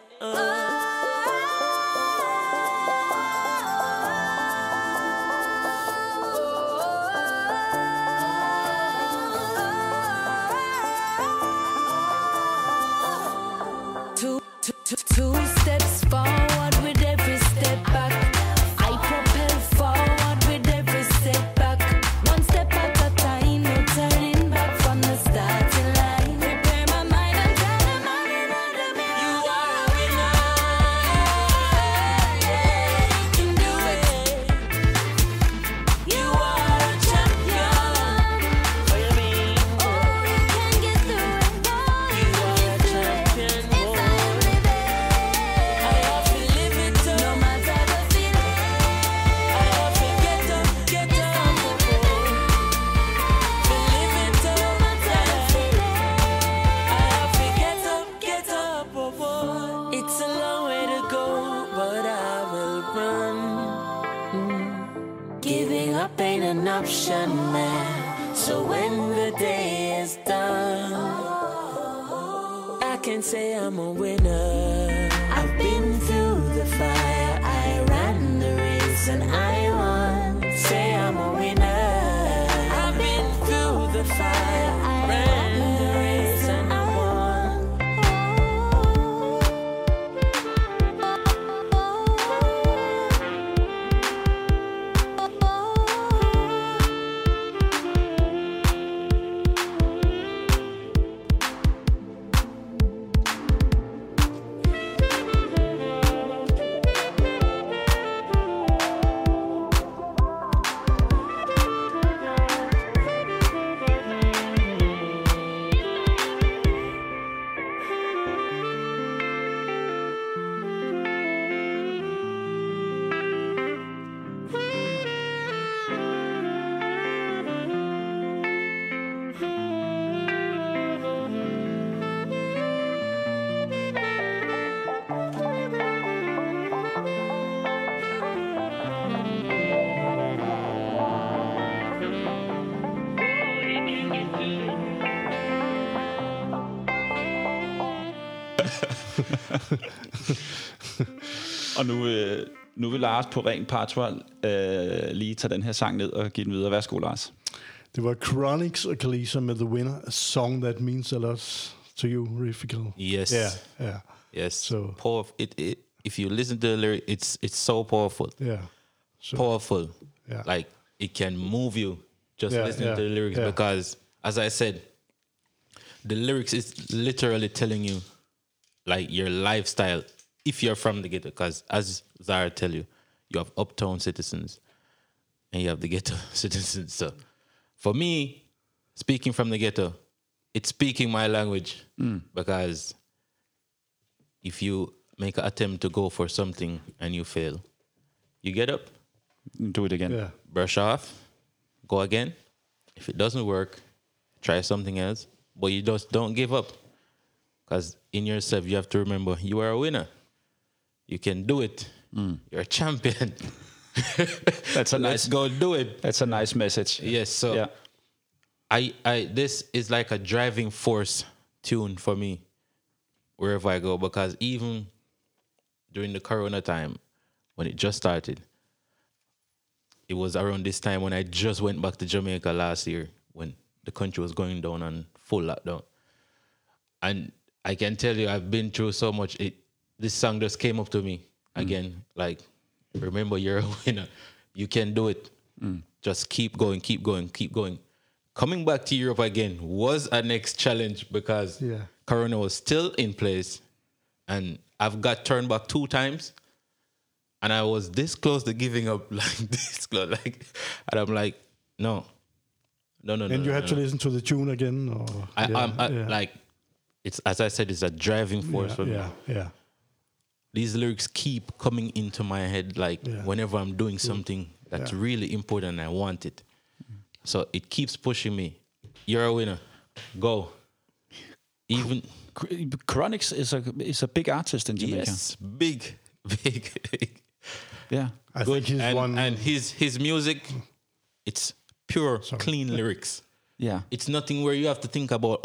Speaker 6: Two steps forward with every step back. I propel forward with every step back. One step at a time, no turning back from the starting line. Prepare my mind and tell the morning on the mirror. You are a winner. Yeah, you can do it. You are a champion. What you mean? Oh, you can get through it. You are a champion. If I am living, I have to live it up, no matter the feeling. I have to get up, get up. To live it up, no matter the feeling. I have to get up, oh boy. It's a long way to go, but I will run. Giving up ain't an option, man. So when the day is done, I can say I'm a winner. I've been through the fire, I ran the race and I won. Say I'm a winner. I've been through the fire, I ran the race and I won.
Speaker 2: Og nu vil Lars på ren patron lige tage den her sang ned og give den videre. Værsgo, Lars.
Speaker 3: Det var Chronix og Kalisa med The Winner, a song that means a lot to you, Rifical.
Speaker 4: Yes.
Speaker 3: Yeah.
Speaker 4: Yes.
Speaker 3: So-
Speaker 4: It if you listen to the lyric, it's so powerful.
Speaker 3: Yeah. So,
Speaker 4: Powerful.
Speaker 3: Yeah.
Speaker 4: Like it can move you just
Speaker 3: Yeah,
Speaker 4: listening to the lyrics because, as I said, the lyrics is literally telling you like your lifestyle if you're from the ghetto. Because as Zara tell you, you have uptown citizens and you have the ghetto citizens. So for me, speaking from the ghetto, it's speaking my language because if you make an attempt to go for something and you fail, you get up,
Speaker 2: Do it again.
Speaker 3: yeah.
Speaker 4: brush off, go again. If it doesn't work, try something else. But you just don't give up. Because in yourself, you have to remember you are a winner. You can do it. You're a champion.
Speaker 2: That's a
Speaker 4: Let's
Speaker 2: nice.
Speaker 4: go do it.
Speaker 2: That's a nice message.
Speaker 4: Yes, so
Speaker 2: Yeah.
Speaker 4: I this is like a driving force tune for me wherever I go, because even during the corona time when it just started, it was around this time when I just went back to Jamaica last year when the country was going down on full lockdown. And I can tell you I've been through so much. This song just came up to me again, like, remember you're a winner. You can do it. Just keep going, keep going, keep going. Coming back to Europe again was a next challenge because Corona was still in place, and I've got turned back 2 times, and I was this close to giving up, like this close, like, and I'm like, no.
Speaker 3: And you had to listen to the tune again? Or?
Speaker 4: Like, it's, as I said, it's a driving force for me.
Speaker 3: Yeah.
Speaker 4: These lyrics keep coming into my head, like whenever I'm doing something that's really important and I want it. So it keeps pushing me. You're a winner. Go. Even
Speaker 2: Chronix is a big artist in Jamaica.
Speaker 4: yes, big.
Speaker 2: Yeah.
Speaker 3: I think he's one.
Speaker 4: And his music, it's pure, clean lyrics.
Speaker 2: Yeah.
Speaker 4: It's nothing where you have to think about,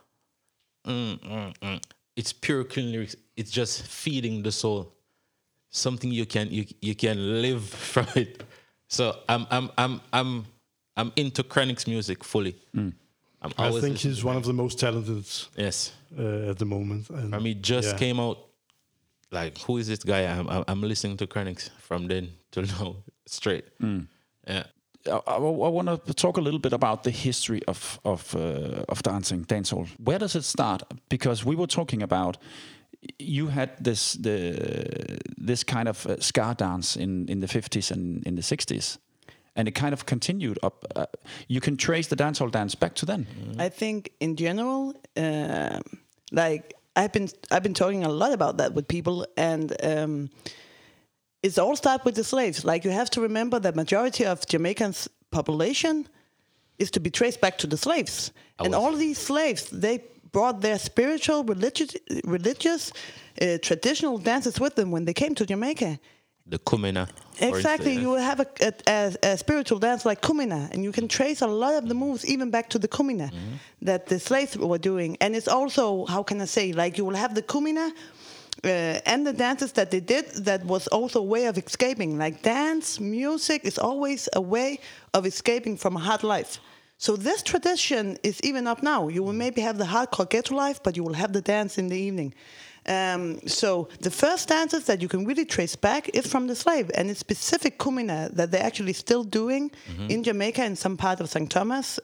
Speaker 4: It's pure, clean lyrics. It's just feeding the soul. Something you can live from it. So I'm into Chronix music fully.
Speaker 3: I think he's one of the most talented
Speaker 4: yes.
Speaker 3: at the moment. And
Speaker 4: I mean, just came out. Like, who is this guy? I'm listening to Chronix from then till now, straight. Yeah.
Speaker 2: I want to talk a little bit about the history of dancehall. Where does it start? Because we were talking about you had this kind of ska dance in the 50s and in the 60s, and it kind of continued up. You can trace the dancehall dance back to then.
Speaker 5: I think in general, like I've been talking a lot about that with people, and it's all start with the slaves. Like, you have to remember that majority of Jamaicans' population is to be traced back to the slaves, and all these slaves, they brought their spiritual, religious, traditional dances with them when they came to Jamaica.
Speaker 4: The Kumina.
Speaker 5: Exactly, you will have a spiritual dance like Kumina, and you can trace a lot of the moves even back to the Kumina that the slaves were doing. And it's also, how can I say, like, you will have the Kumina and the dances that they did, that was also a way of escaping. Like, dance, music is always a way of escaping from a hard life. So this tradition is even up now. You will maybe have the hardcore ghetto life, but you will have the dance in the evening. So the first dances that you can really trace back is from the slave, and it's specific Kumina that they're actually still doing in Jamaica in some part of St. Thomas.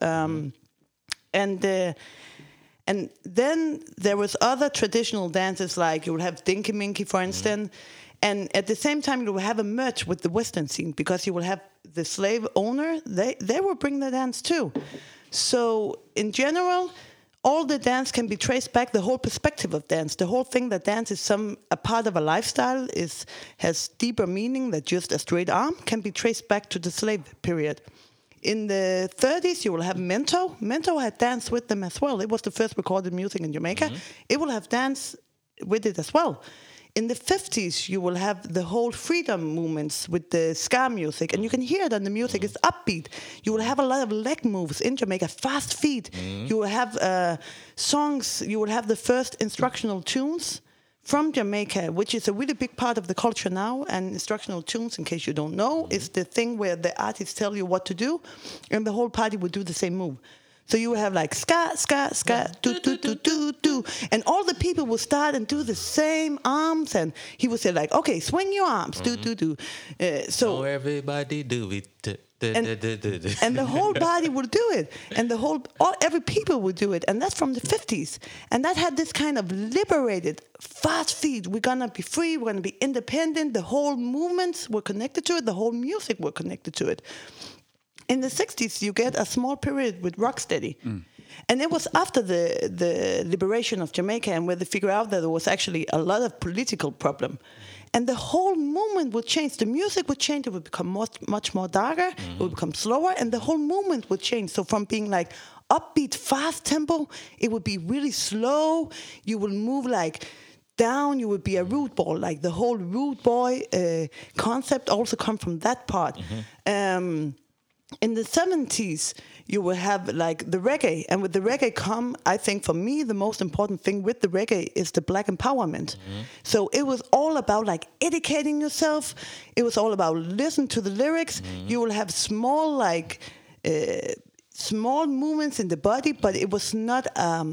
Speaker 5: And then there was other traditional dances, like you will have Dinky Minky, for instance. And at the same time, you will have a merge with the Western scene, because you will have the slave owner, they will bring the dance too. So in general, all the dance can be traced back, the whole perspective of dance, the whole thing that dance is a part of a lifestyle, has deeper meaning than just a straight arm, can be traced back to the slave period. In the 30s, you will have Mento. Mento had dance with them as well. It was the first recorded music in Jamaica. It will have dance with it as well. In the 50s, you will have the whole freedom movements with the ska music, and you can hear it on the music. It's upbeat. You will have a lot of leg moves in Jamaica, fast feet. You will have songs. You will have the first instructional tunes from Jamaica, which is a really big part of the culture now. And instructional tunes, in case you don't know, is the thing where the artists tell you what to do, and the whole party will do the same move. So you will have like ska, ska, ska, do, do, do, do, do. And all the people will start and do the same arms. And he would say like, okay, swing your arms, do, do, do.
Speaker 4: So everybody do it.
Speaker 5: And the whole body will do it. And every people will do it. And that's from the 50s. And that had this kind of liberated, fast feet. We're going to be free. We're going to be independent. The whole movements were connected to it. The whole music were connected to it. In the 60s, you get a small period with Rocksteady. And it was after the liberation of Jamaica and where they figured out that there was actually a lot of political problem. And the whole movement would change. The music would change. It would become much more darker. It would become slower. And the whole movement would change. So from being like upbeat, fast tempo, it would be really slow. You will move like down. You would be a rude boy. Like the whole rude boy concept also come from that part. In the 70s, you will have like the reggae. And with the reggae come, I think for me, the most important thing with the reggae is the black empowerment. So it was all about like educating yourself. It was all about listening to the lyrics. You will have small like small movements in the body, but it was not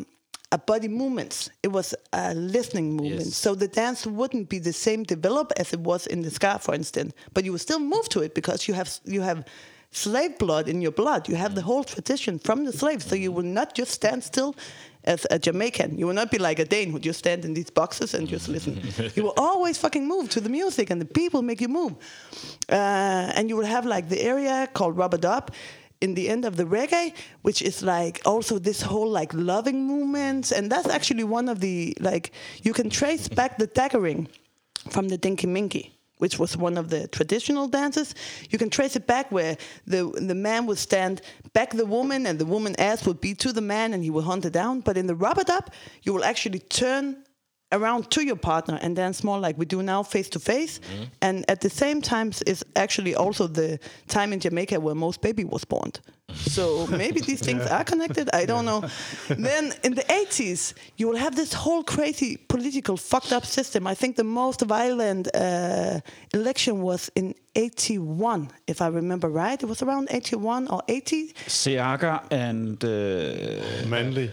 Speaker 5: a body movements. It was a listening movement. Yes. So the dance wouldn't be the same developed as it was in the ska, for instance. But you will still move to it because you have slave blood in your blood. You have the whole tradition from the slaves. So you will not just stand still as a Jamaican. You will not be like a Dane who just stand in these boxes and just listen. You will always fucking move to the music and the people make you move. And you will have like the area called Rubber Dub in the end of the reggae, which is like also this whole like loving movements. And that's actually one of the, like, you can trace back the daggering from the Dinky Minky, which was one of the traditional dances. You can trace it back where the man would stand back the woman and the woman's ass would be to the man and he would hunt her down. But in the Rubber Dub, you will actually turn around to your partner and dance more like we do now, face to face. And at the same time is actually also the time in Jamaica where most baby was born. So maybe these things are connected. I don't know. Then in the 80s, you will have this whole crazy political fucked up system. I think the most violent election was in 81, if I remember right. It was around 81 or 80.
Speaker 2: Seaga and
Speaker 3: Manley.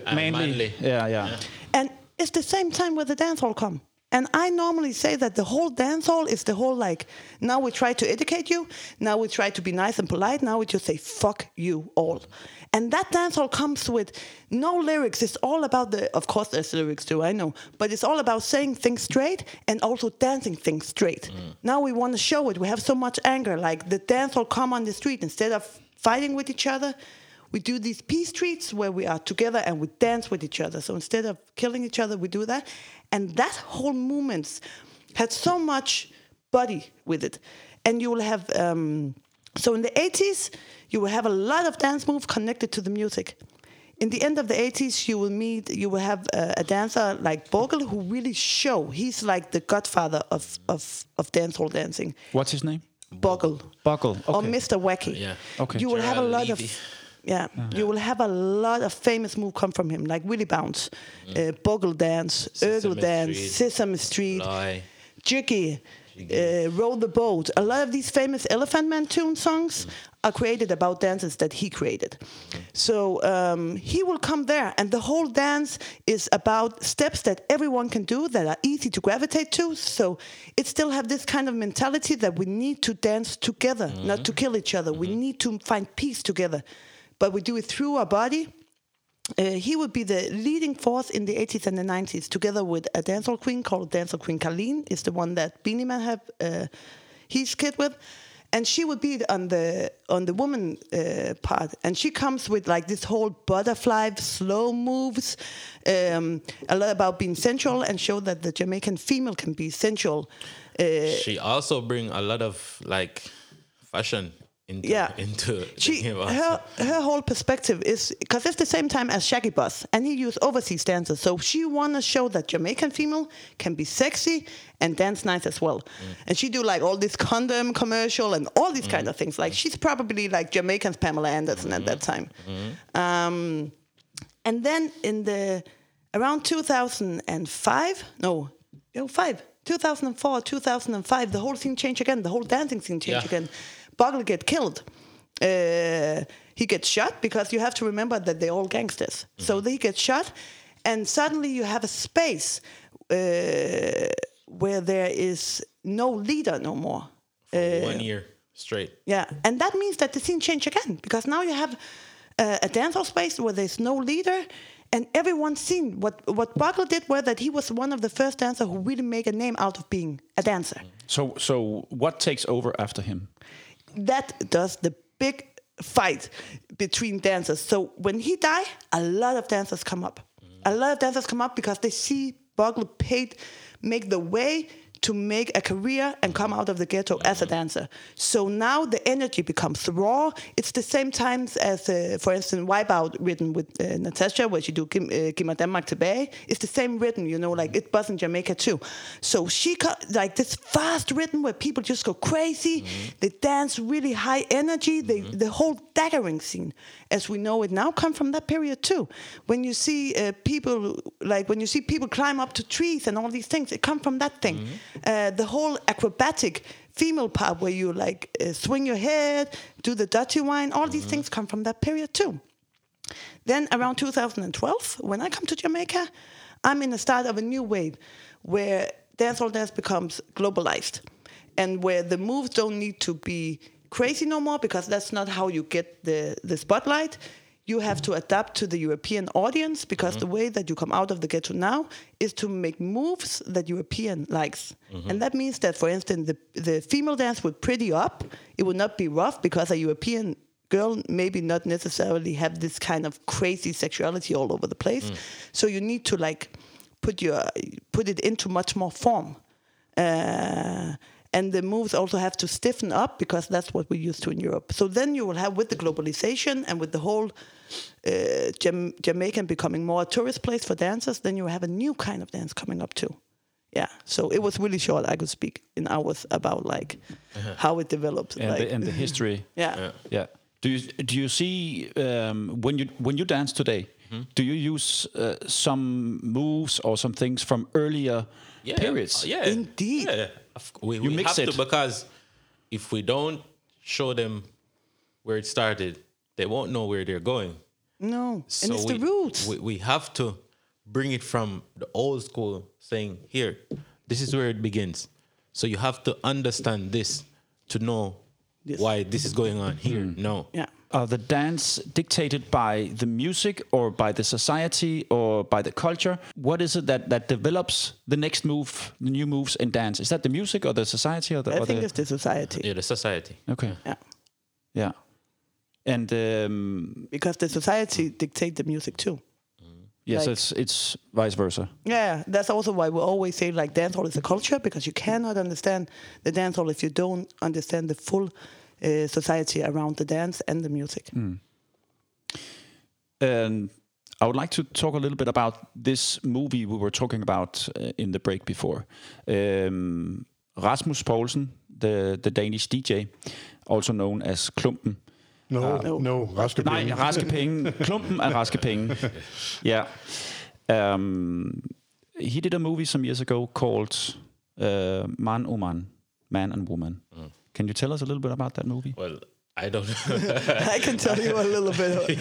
Speaker 2: Yeah.
Speaker 5: And it's the same time where the dance hall come. And I normally say that the whole dance hall is the whole like, now we try to educate you, now we try to be nice and polite, now we just say, fuck you all. And that dance hall comes with no lyrics. It's all about of course there's lyrics too, I know, but it's all about saying things straight and also dancing things straight. Now we want to show it. We have so much anger. Like the dance hall come on the street, instead of fighting with each other, we do these peace treats where we are together and we dance with each other. So instead of killing each other, we do that. And that whole movement had so much body with it. And you will have, so in the 80s, you will have a lot of dance moves connected to the music. In the end of the 80s, you will have a dancer like Bogle who really he's like the godfather of dancehall dancing.
Speaker 2: What's his name?
Speaker 5: Bogle.
Speaker 2: Okay.
Speaker 5: Or Mr. Wacky.
Speaker 4: Yeah.
Speaker 2: Okay.
Speaker 5: You will have a lot of... you will have a lot of famous moves come from him, like Willie Bounce, Bogle Dance, Urgle Dance, Sesame Street, Jiggy, Roll the Boat. A lot of these famous Elephant Man tune songs are created about dances that he created. So he will come there, and the whole dance is about steps that everyone can do that are easy to gravitate to. So it still have this kind of mentality that we need to dance together, not to kill each other. We need to find peace together. But we do it through our body. He would be the leading force in the 80s and the 90s, together with a dancehall queen called Dancehall Queen Colleen, is the one that Beenie Man have his kid with. And she would be on the woman part. And she comes with like this whole butterfly, slow moves, a lot about being sensual and show that the Jamaican female can be sensual.
Speaker 4: She also bring a lot of like fashion into the game also.
Speaker 5: her whole perspective is because it's the same time as Shaggy Boss, and he used overseas dancers. So she want to show that Jamaican female can be sexy and dance nice as well. And she do like all this condom commercial and all these kind of things. Like she's probably like Jamaican's Pamela Anderson at that time. And then in around 2005, 2004, 2005, the whole scene changed again. The whole dancing scene changed again. Bogle get killed. He gets shot because you have to remember that they're all gangsters. So they get shot, and suddenly you have a space where there is no leader no more.
Speaker 4: For 1 year straight.
Speaker 5: Yeah, and that means that the scene changed again because now you have a dancehall space where there's no leader. And everyone's seen what Bogle did was that he was one of the first dancers who really made a name out of being a dancer.
Speaker 2: So what takes over after him?
Speaker 5: That does the big fight between dancers. So when he died, a lot of dancers come up. A lot of dancers come up because they see Bogle make the way to make a career and come out of the ghetto as a dancer. So now the energy becomes raw. It's the same times as, for instance, Wipeout written with Natasha, where she do Giv mig Danmark tilbage. It's the same rhythm, like it was in Jamaica too. So she like this fast rhythm where people just go crazy. They dance really high energy. The whole daggering scene, as we know it now, come from that period too. When you see people climb up to trees and all these things, it come from that thing. The whole acrobatic female part where you swing your head, do the dirty wine, all these things come from that period too. Then around 2012, when I come to Jamaica, I'm in the start of a new wave where dancehall dance becomes globalized and where the moves don't need to be crazy no more because that's not how you get the spotlight. You have to adapt to the European audience because the way that you come out of the ghetto now is to make moves that European likes. And that means that, for instance, the female dance would pretty up. It would not be rough because a European girl maybe not necessarily have this kind of crazy sexuality all over the place. So you need to put it into much more form. And the moves also have to stiffen up because that's what we're used to in Europe. So then you will have, with the globalization and with the whole Jamaican becoming more a tourist place for dancers, then you have a new kind of dance coming up too. Yeah, so it was really short. I could speak in hours about how it developed
Speaker 2: and the history.
Speaker 5: Yeah.
Speaker 2: Do you see when you dance today? Do you use some moves or some things from earlier periods?
Speaker 4: Yeah,
Speaker 5: indeed.
Speaker 4: Yeah. We
Speaker 2: mix
Speaker 4: have
Speaker 2: it
Speaker 4: to, because if we don't show them where it started, they won't know where they're going.
Speaker 5: No,
Speaker 4: So
Speaker 5: and it's the roots.
Speaker 4: We have to bring it from the old school, saying, here, this is where it begins. So you have to understand this to know why this is going on here. No.
Speaker 5: Yeah.
Speaker 2: Are the dance dictated by the music or by the society or by the culture? What is it that develops the next move, the new moves in dance? Is that the music or the society?
Speaker 5: I think it's the society.
Speaker 4: Yeah, the society.
Speaker 2: Okay. Yeah. And
Speaker 5: because the society dictates the music too.
Speaker 2: yes, it's vice versa.
Speaker 5: Yeah, that's also why we always say dancehall is a culture, because you cannot understand the dancehall if you don't understand the full society around the dance and the music.
Speaker 2: And I would like to talk a little bit about this movie we were talking about in the break before. Rasmus Poulsen, the Danish DJ, also known as Klumpen.
Speaker 3: No, Raske Penge.
Speaker 2: Nej, Raske Penge. Klumpen er Raske Penge. Yeah. He did a movie some years ago called Man og Man, Man and Woman. Can you tell us a little bit about that movie?
Speaker 4: Well, I don't know.
Speaker 5: I can tell you a little bit.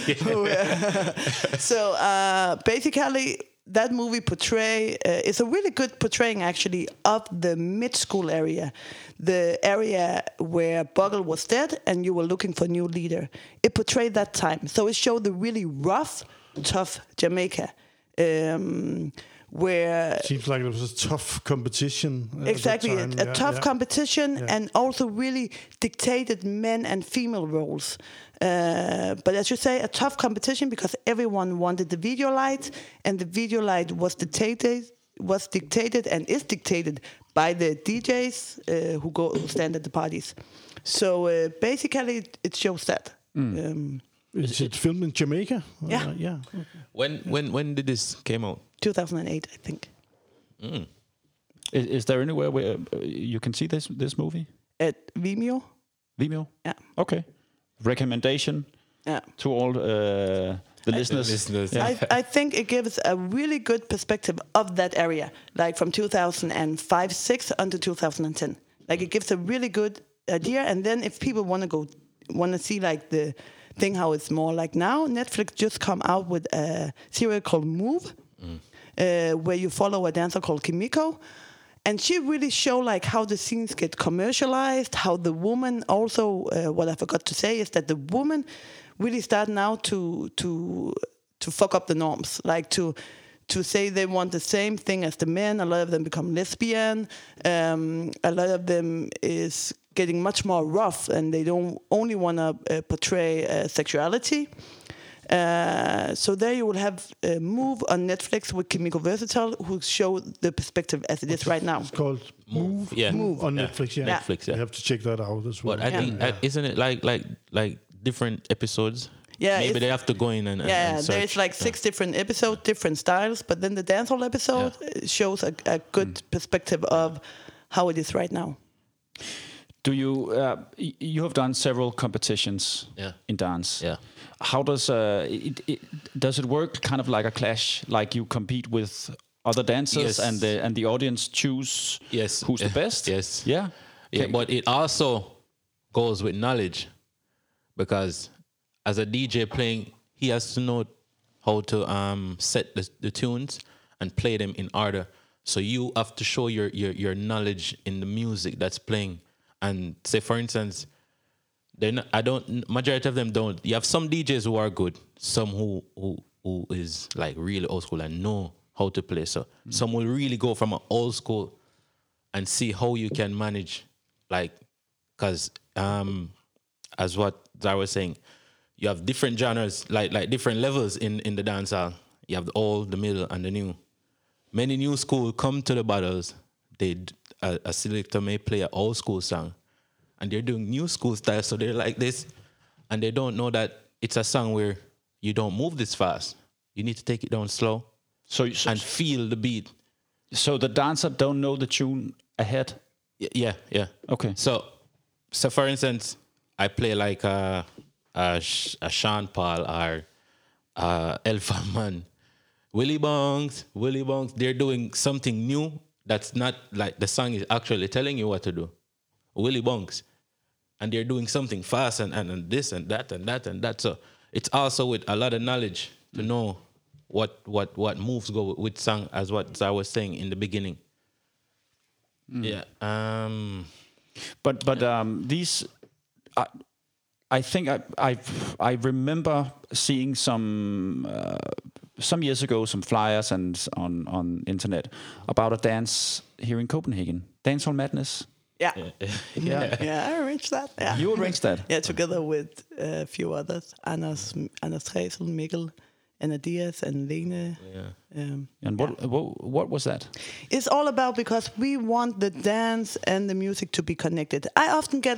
Speaker 5: So basically, that movie is a really good portraying actually of the mid-school area, the area where Bogle was dead and you were looking for a new leader. It portrayed that time. So it showed the really rough, tough Jamaica. Where
Speaker 3: seems like it was a tough competition.
Speaker 5: Exactly, a tough competition, and also really dictated men and female roles. But as you say, a tough competition because everyone wanted the video light, and the video light was was dictated and is dictated by the DJs who stand at the parties. So basically, it shows that.
Speaker 3: Is it filmed in Jamaica?
Speaker 5: Yeah.
Speaker 3: Yeah.
Speaker 4: When did this came out?
Speaker 5: 2008, I think.
Speaker 2: Is there anywhere where you can see this movie?
Speaker 5: At Vimeo.
Speaker 2: Vimeo?
Speaker 5: Yeah.
Speaker 2: Okay. Recommendation to all the listeners.
Speaker 4: Yeah.
Speaker 5: I think it gives a really good perspective of that area, like from 2005-06 until 2010. Like it gives a really good idea. And then if people want to see like the thing how it's more like now, Netflix just come out with a series called Move, where you follow a dancer called Kimiko. And she really show like how the scenes get commercialized, how the woman also, what I forgot to say is that the woman really start now to fuck up the norms, like to say they want the same thing as the men. A lot of them become lesbian. A lot of them is getting much more rough, and they don't only want to portray sexuality. So there you will have Move on Netflix with Kimiko Versatile, who show the perspective as it is right now.
Speaker 3: It's called Move.
Speaker 4: Yeah.
Speaker 3: Move on Netflix. Yeah.
Speaker 4: Netflix. Yeah.
Speaker 3: You have to check that out as well.
Speaker 4: But I think isn't it like different episodes?
Speaker 5: Yeah,
Speaker 4: maybe they have to go in and search.
Speaker 5: There's like 6 different episodes, different styles, but then the dancehall episode shows a good perspective of how it is right now.
Speaker 2: Do you you have done several competitions in dance?
Speaker 4: Yeah.
Speaker 2: How does does it work kind of like a clash? Like you compete with other dancers and the audience choose who's the best?
Speaker 4: Yes.
Speaker 2: Yeah.
Speaker 4: Yeah, but it also goes with knowledge, because as a DJ playing, he has to know how to set the tunes and play them in order. So you have to show your knowledge in the music that's playing. And say, for instance, majority of them don't. You have some DJs who are good, some who is like really old school and know how to play. So some will really go from an old school and see how you can manage, like, because as what Zara was saying, you have different genres, like different levels in the dancehall. You have the old, the middle, and the new. Many new school come to the battles. A selector may play an old school song, and they're doing new school style, so they're like this, and they don't know that it's a song where you don't move this fast. You need to take it down slow, and feel the beat.
Speaker 2: So the dancer don't know the tune ahead?
Speaker 4: Yeah.
Speaker 2: Okay.
Speaker 4: So for instance, I play like a Sean Paul or Alpha Man. Willie Bongs, they're doing something new that's not like the song is actually telling you what to do. Willie Bongs. And they're doing something fast and this and that and that and that. So it's also with a lot of knowledge to know what moves go with song, as what I was saying in the beginning. Yeah.
Speaker 2: But these, I think I remember seeing some years ago some flyers and on internet about a dance here in Copenhagen, Dancehall Madness.
Speaker 5: Yeah,
Speaker 2: Yeah.
Speaker 5: I arranged that. Yeah.
Speaker 2: You arranged that?
Speaker 5: Yeah, together with a few others, Anders Tresel, Mikkel, Anna Diaz, and Lene.
Speaker 4: Yeah.
Speaker 2: And what was that?
Speaker 5: It's all about, because we want the dance and the music to be connected. I often get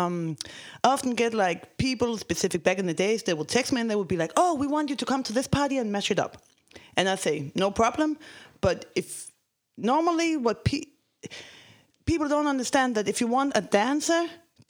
Speaker 5: like people specific back in the days, they would text me and they would be like, "Oh, we want you to come to this party and mash it up," and I say no problem. But if normally what people don't understand, that if you want a dancehall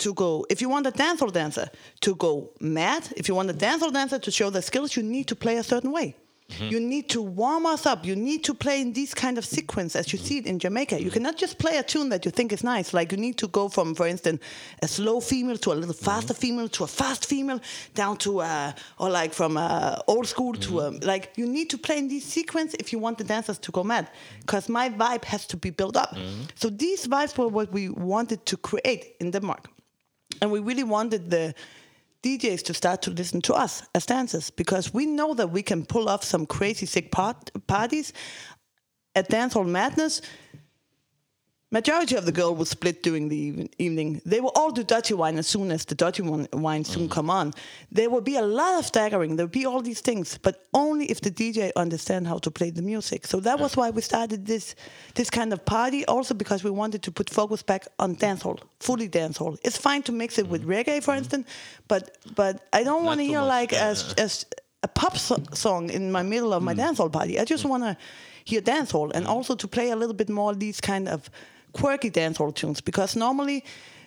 Speaker 5: dancer to go mad, if you want a dancehall dancer to show their skills, you need to play a certain way. Mm-hmm. You need to warm us up. You need to play in these kind of sequence as you see it in Jamaica. You cannot just play a tune that you think is nice. Like you need to go from, for instance, a slow female to a little faster female to a fast female, down to or like from old school to like you need to play in these sequence if you want the dancers to go mad. Because my vibe has to be built up. So these vibes were what we wanted to create in Denmark, and we really wanted the DJs to start to listen to us as dancers, because we know that we can pull off some crazy sick parties at Dancehall Madness. majority of the girl would split during the evening. They will all do dirty wine as soon as the dirty wine soon come on. There will be a lot of staggering. There will be all these things, but only if the DJ understand how to play the music. So that was why we started this kind of party. Also because we wanted to put focus back on dancehall, fully dancehall. It's fine to mix it with reggae, for instance, but I don't want to hear like as a pop song in my middle of my dancehall party. I just want to hear dancehall, and also to play a little bit more these kind of quirky dancehall tunes, because normally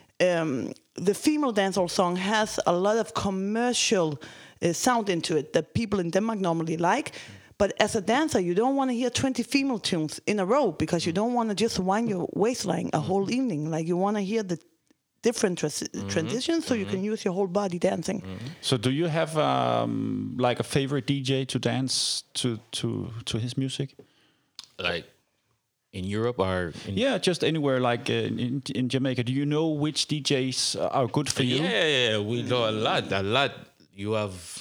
Speaker 5: the female dancehall song has a lot of commercial sound into it that people in Denmark normally like. But as a dancer, you don't want to hear 20 female tunes in a row, because you don't want to just wind your waistline a whole evening. Like, you want to hear the different transitions, so you can use your whole body dancing.
Speaker 2: So do you have like a favorite DJ to dance to his music?
Speaker 4: Like in Europe or
Speaker 2: just anywhere, like in Jamaica. Do you know which DJs are good for you?
Speaker 4: Yeah, we know a lot. You have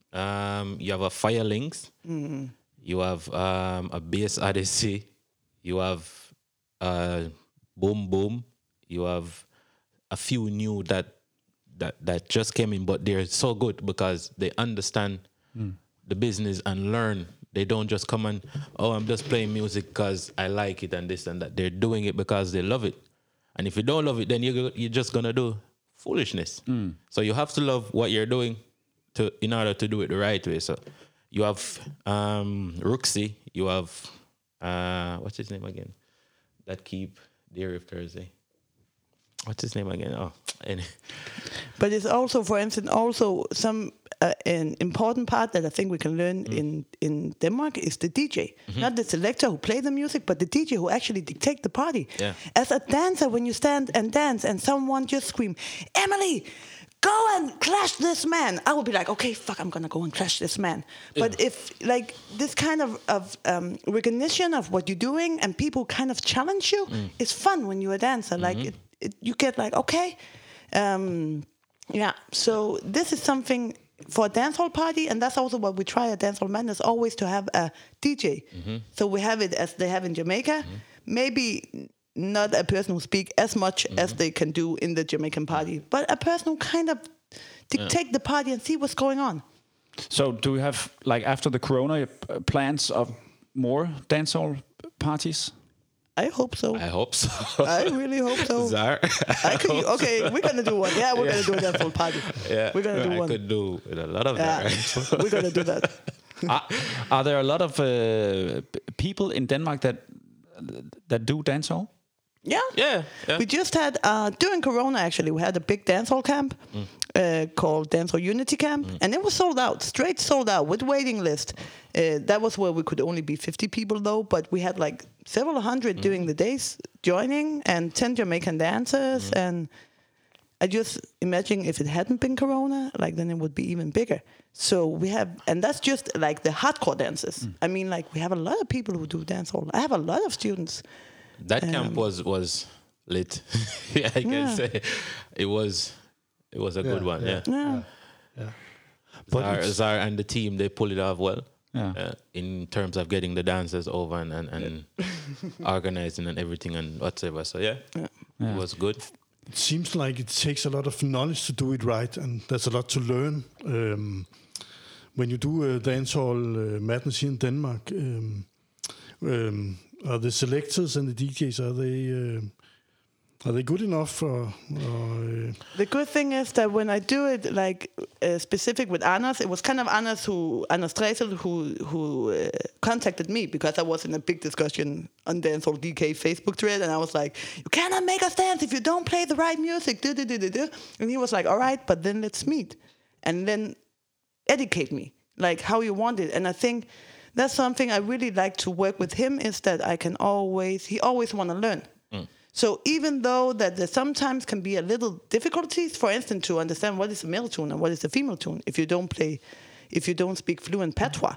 Speaker 4: a Firelinks, you have a Bass Odyssey, you have Boom Boom, you have a few new that just came in, but they're so good because they understand the business and learn. They don't just come and, I'm just playing music because I like it and this and that. They're doing it because they love it. And if you don't love it, then you're just going to do foolishness. So you have to love what you're doing in order to do it the right way. So you have Rooksy. You have, what's his name again? That keep Dairy of Thursday. What's his name again?
Speaker 5: But it's also, for instance, also some an important part that I think we can learn in Denmark is the DJ. Not the selector who play the music, but the DJ who actually dictate the party.
Speaker 4: Yeah.
Speaker 5: As a dancer, when you stand and dance and someone just scream, "Emily, go and clash this man," I will be like, okay, fuck, I'm gonna go and clash this man. But if like this kind of recognition of what you're doing and people kind of challenge you, it's fun when you're a dancer. Like you get like, okay, so this is something for a dancehall party, and that's also what we try at Dancehall Madness, always to have a DJ. So we have it as they have in Jamaica. Maybe not a person who speak as much as they can do in the Jamaican party, but a person who kind of dictate the party and see what's going on.
Speaker 2: So do you have, like, after the corona, plans of more dancehall parties?
Speaker 5: I hope so.
Speaker 4: I hope so.
Speaker 5: I really hope so.
Speaker 4: Zar,
Speaker 5: Okay, we're gonna do one. Yeah, we're gonna do a dancehall party.
Speaker 4: Yeah,
Speaker 5: we're gonna do one.
Speaker 4: I could do with a lot of that. Right?
Speaker 5: We're gonna do that.
Speaker 2: Are there a lot of people in Denmark that do dancehall?
Speaker 5: Yeah. We just had during Corona, actually, we had a big dancehall camp called Dancehall Unity Camp, and it was sold out, straight sold out with waiting list. That was where we could only be 50 people though, but we had like several hundred during the days joining, and 10 Jamaican dancers. And I just imagine if it hadn't been Corona, like, then it would be even bigger. So we have, and that's just like the hardcore dancers. I mean, like, we have a lot of people who do dancehall. I have a lot of students.
Speaker 4: That camp was lit. I can say it was a good one. Yeah. But Zar and the team, they pull it off well. In terms of getting the dancers over and organizing and everything and whatever. So it was good.
Speaker 3: It seems like it takes a lot of knowledge to do it right, and there's a lot to learn. When you do dancehall madness here in Denmark, are the selectors and the DJs, are they good enough?
Speaker 5: The good thing is that when I do it, like specific with Anders, it was kind of Anders Dresel who contacted me, because I was in a big discussion on Dancehall DK Facebook thread, and I was like, "You cannot make us dance if you don't play the right music." And he was like, "All right, but then let's meet and then educate me, like how you want it." And I think that's something I really like to work with him, is that he always want to learn. So even though that there sometimes can be a little difficulties, for instance, to understand what is a male tune and what is a female tune, if you don't speak fluent patois.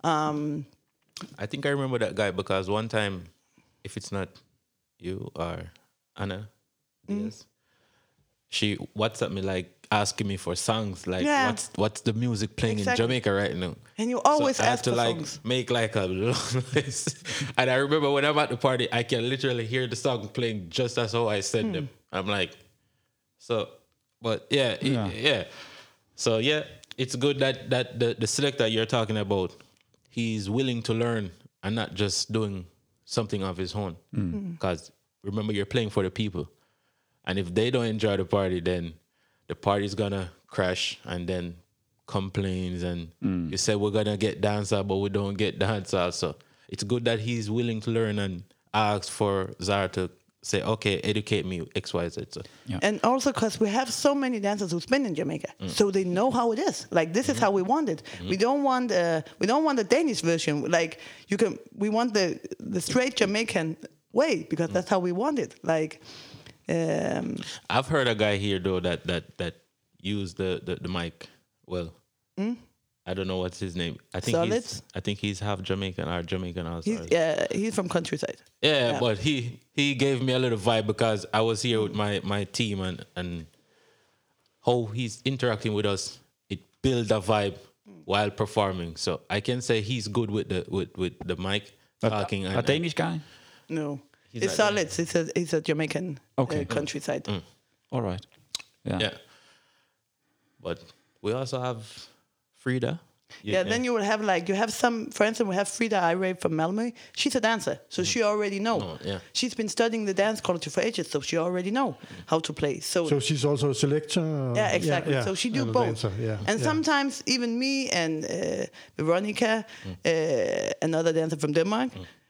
Speaker 4: I think I remember that guy, because one time, if it's not you or Anna Diaz, she WhatsApped me like asking me for songs. Like,
Speaker 5: Yeah.
Speaker 4: what's the music playing
Speaker 5: Exactly.
Speaker 4: in Jamaica right now?
Speaker 5: And you always
Speaker 4: So I had
Speaker 5: ask
Speaker 4: to
Speaker 5: for
Speaker 4: like
Speaker 5: songs.
Speaker 4: make like a long list. And I remember when I'm at the party, I can literally hear the song playing just as how I said them. I'm like, so, but yeah, yeah. So yeah, it's good that the selector you're talking about, he's willing to learn and not just doing something of his own. Because remember, you're playing for the people. And if they don't enjoy the party, then the party's gonna crash and then complains and you say we're gonna get dancehall, but we don't get dancehall. So it's good that he's willing to learn and ask for Zara to say, okay, educate me, X, Y, Z. So,
Speaker 5: And also because we have so many dancers who've been in Jamaica, so they know how it is. Like this is how we want it. We don't want the Danish version. Like we want the straight Jamaican way because that's how we want it. Like
Speaker 4: I've heard a guy here though that used the mic well. I don't know what's his name. I think he's half Jamaican or Jamaican also.
Speaker 5: he's from countryside.
Speaker 4: Yeah, but he gave me a little vibe because I was here with my team and how he's interacting with us, it builds a vibe while performing. So I can say he's good with the mic talking.
Speaker 2: A Danish guy?
Speaker 5: No,
Speaker 4: He's
Speaker 5: it's
Speaker 4: like
Speaker 5: solid. He's a Jamaican countryside.
Speaker 2: All right.
Speaker 4: Yeah. But we also have Frida.
Speaker 5: Then you will have you have some, for instance, we have Frida Irae from Malmö. She's a dancer, so she already know. She's been studying the dance culture for ages, so she already know how to play. So
Speaker 3: she's also a selector?
Speaker 5: Yeah, exactly. So she do
Speaker 3: and a
Speaker 5: both.
Speaker 3: dancer,
Speaker 5: And sometimes even me and Veronica, another dancer from Denmark,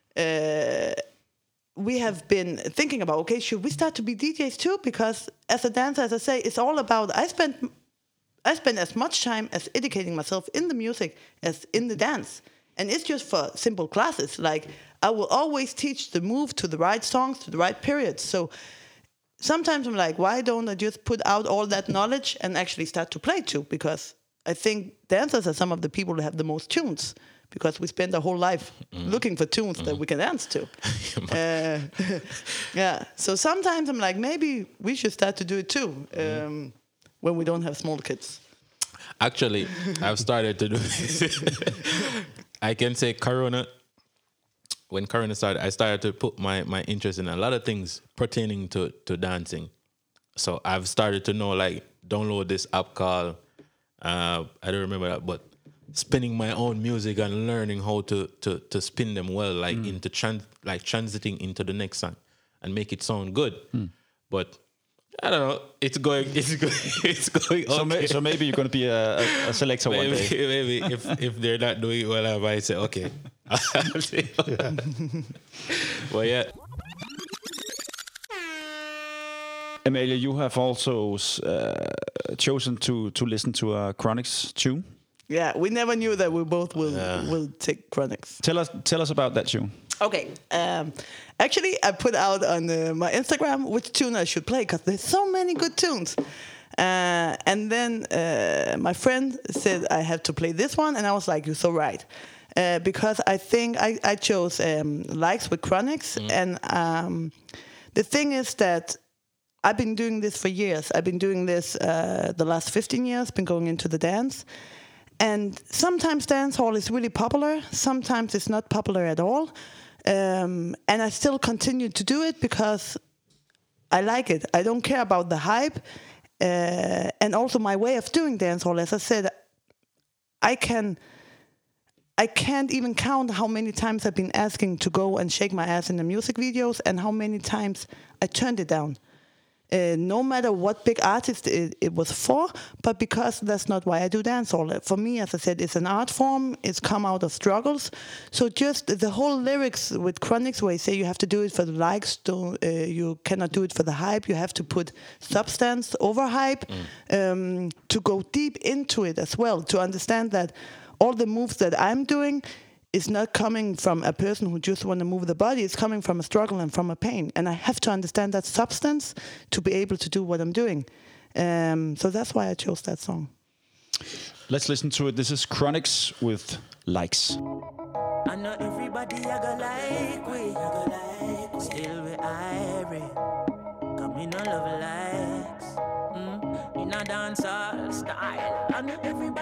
Speaker 5: we have been thinking about, okay, should we start to be DJs too? Because as a dancer, as I say, it's all about, I spend as much time as educating myself in the music as in the dance. And it's just for simple classes. Like, I will always teach the move to the right songs, to the right periods. So sometimes I'm like, why don't I just put out all that knowledge and actually start to play too? Because I think dancers are some of the people that have the most tunes, because we spend our whole life looking for tunes that we can dance to. So sometimes I'm like, maybe we should start to do it too. When we don't have small kids.
Speaker 4: Actually, I've started to do I can say when Corona started, I started to put my interest in a lot of things pertaining to dancing. So I've started to know, like, download this app called, I don't remember that, but spinning my own music and learning how to spin them well, like into transiting into the next song and make it sound good. But I don't know. It's going. Okay.
Speaker 2: So maybe you're going to be a selector one day.
Speaker 4: Maybe if they're not doing it well, I might say okay. Well, yeah.
Speaker 2: Amalie, you have also chosen to listen to a Chronixx tune.
Speaker 5: Yeah, we never knew that we both will take Chronixx.
Speaker 2: Tell us about that tune.
Speaker 5: Okay. Actually, I put out on my Instagram which tune I should play, because there's so many good tunes. And then my friend said I have to play this one, and I was like, you're so right. Because I think I chose Likes with Chronixx. And the thing is that I've been doing this for years. I've been doing this the last 15 years, been going into the dance. And sometimes dancehall is really popular. Sometimes it's not popular at all. And I still continue to do it because I like it. I don't care about the hype. And also my way of doing dancehall, as I said, I can't even count how many times I've been asking to go and shake my ass in the music videos and how many times I turned it down. No matter what big artist it was for, but because that's not why I do dancehall. For me, as I said, it's an art form. It's come out of struggles. So just the whole lyrics with Chronixx, where you say you have to do it for the likes, you cannot do it for the hype. You have to put substance over hype to go deep into it as well, to understand that all the moves that I'm doing is not coming from a person who just want to move the body. It's coming from a struggle and from a pain. And I have to understand that substance to be able to do what I'm doing. So that's why I chose that song.
Speaker 2: Let's listen to it. This is Chronixx with Likes.
Speaker 6: I know everybody I go like we, still we irie. Come in no love likes, in a dancer.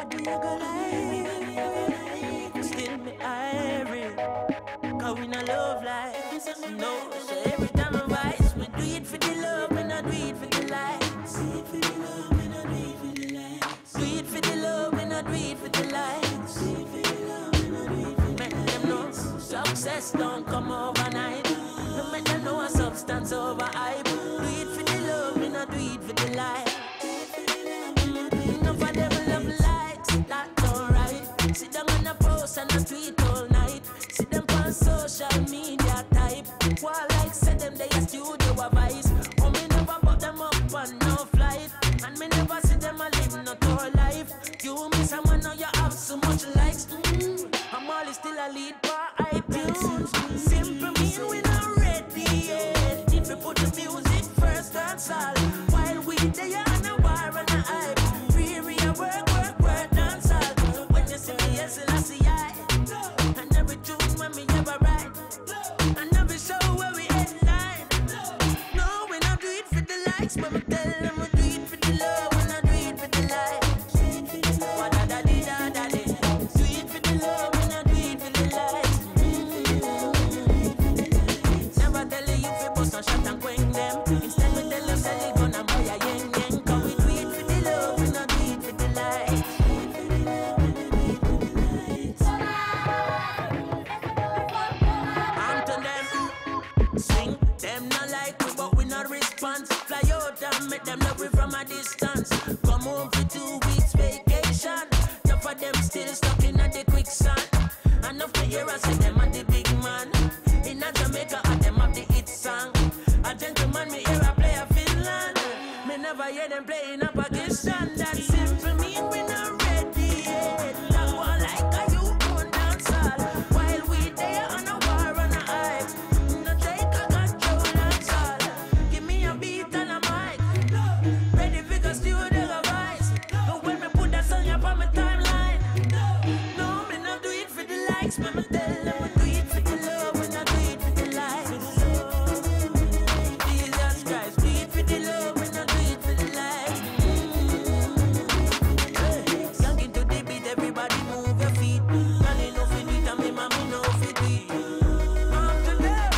Speaker 6: Nobody you go like. Still me irie. Cause we no love like this. No, so every time I rise, we do it for the love, we not do it for the likes. Do it for the love, we not do it for the likes. Do it for the love, we not do it for the likes. Do it for the love, we not do it for the likes. Make them know success don't come overnight. No make them know a substance over hype. Do it for the love, we not do it for the likes. Enough of them love likes, that's alright. Sit down on a post and a tweet all night. See them on social media type. While like said them they a studio advice. Oh me never put them up on no flight. And me never see them a live no tour life. You miss someone now you have so much likes. I'm always still a lead for iTunes. Simple mean we not ready yet. If we put the music first, that's all. While we they on a war and a hype. Free a work, dance all. When you see me, yes, I see I. And every tune when me ever write. And every show where we headline. No, we not do it for the likes, but me tell them we do it for the love. We not do it for the likes. Wa-da-da-dee-da-da-dee. Do it for the love, we not do it for the likes. Never tell you if you bust no shot and quench them. Instead me tell you sell it gonna buy a yen yen. Cause we do it for the love, we not do it for the likes. On to them, swing them not like we but we not respond. Fly out and make them love we from a distance. Come home for 2 weeks vacation. Enough of them still stuck in the quicksand. Enough to hear us say them are the big man. In a Jamaica and them have the hit song. A gentleman me hear a play a Finland. Me never hear them play in a Pakistan. That simple mean we not ready yet. That one like a you own dance hall. While we there on a war and a hype. No take a control dance all. Give me a beat and a mic. Ready for the studio voice. And when me put that song up on my timeline. No, me not do it for the likes. Me tell them we do it for the love. We not do it for the likes. Jesus Christ, do it for the love. We not do it for the likes. Young into the beat, everybody move your feet. Girl, you know fi do it, and me mommy know fi do it. On to them.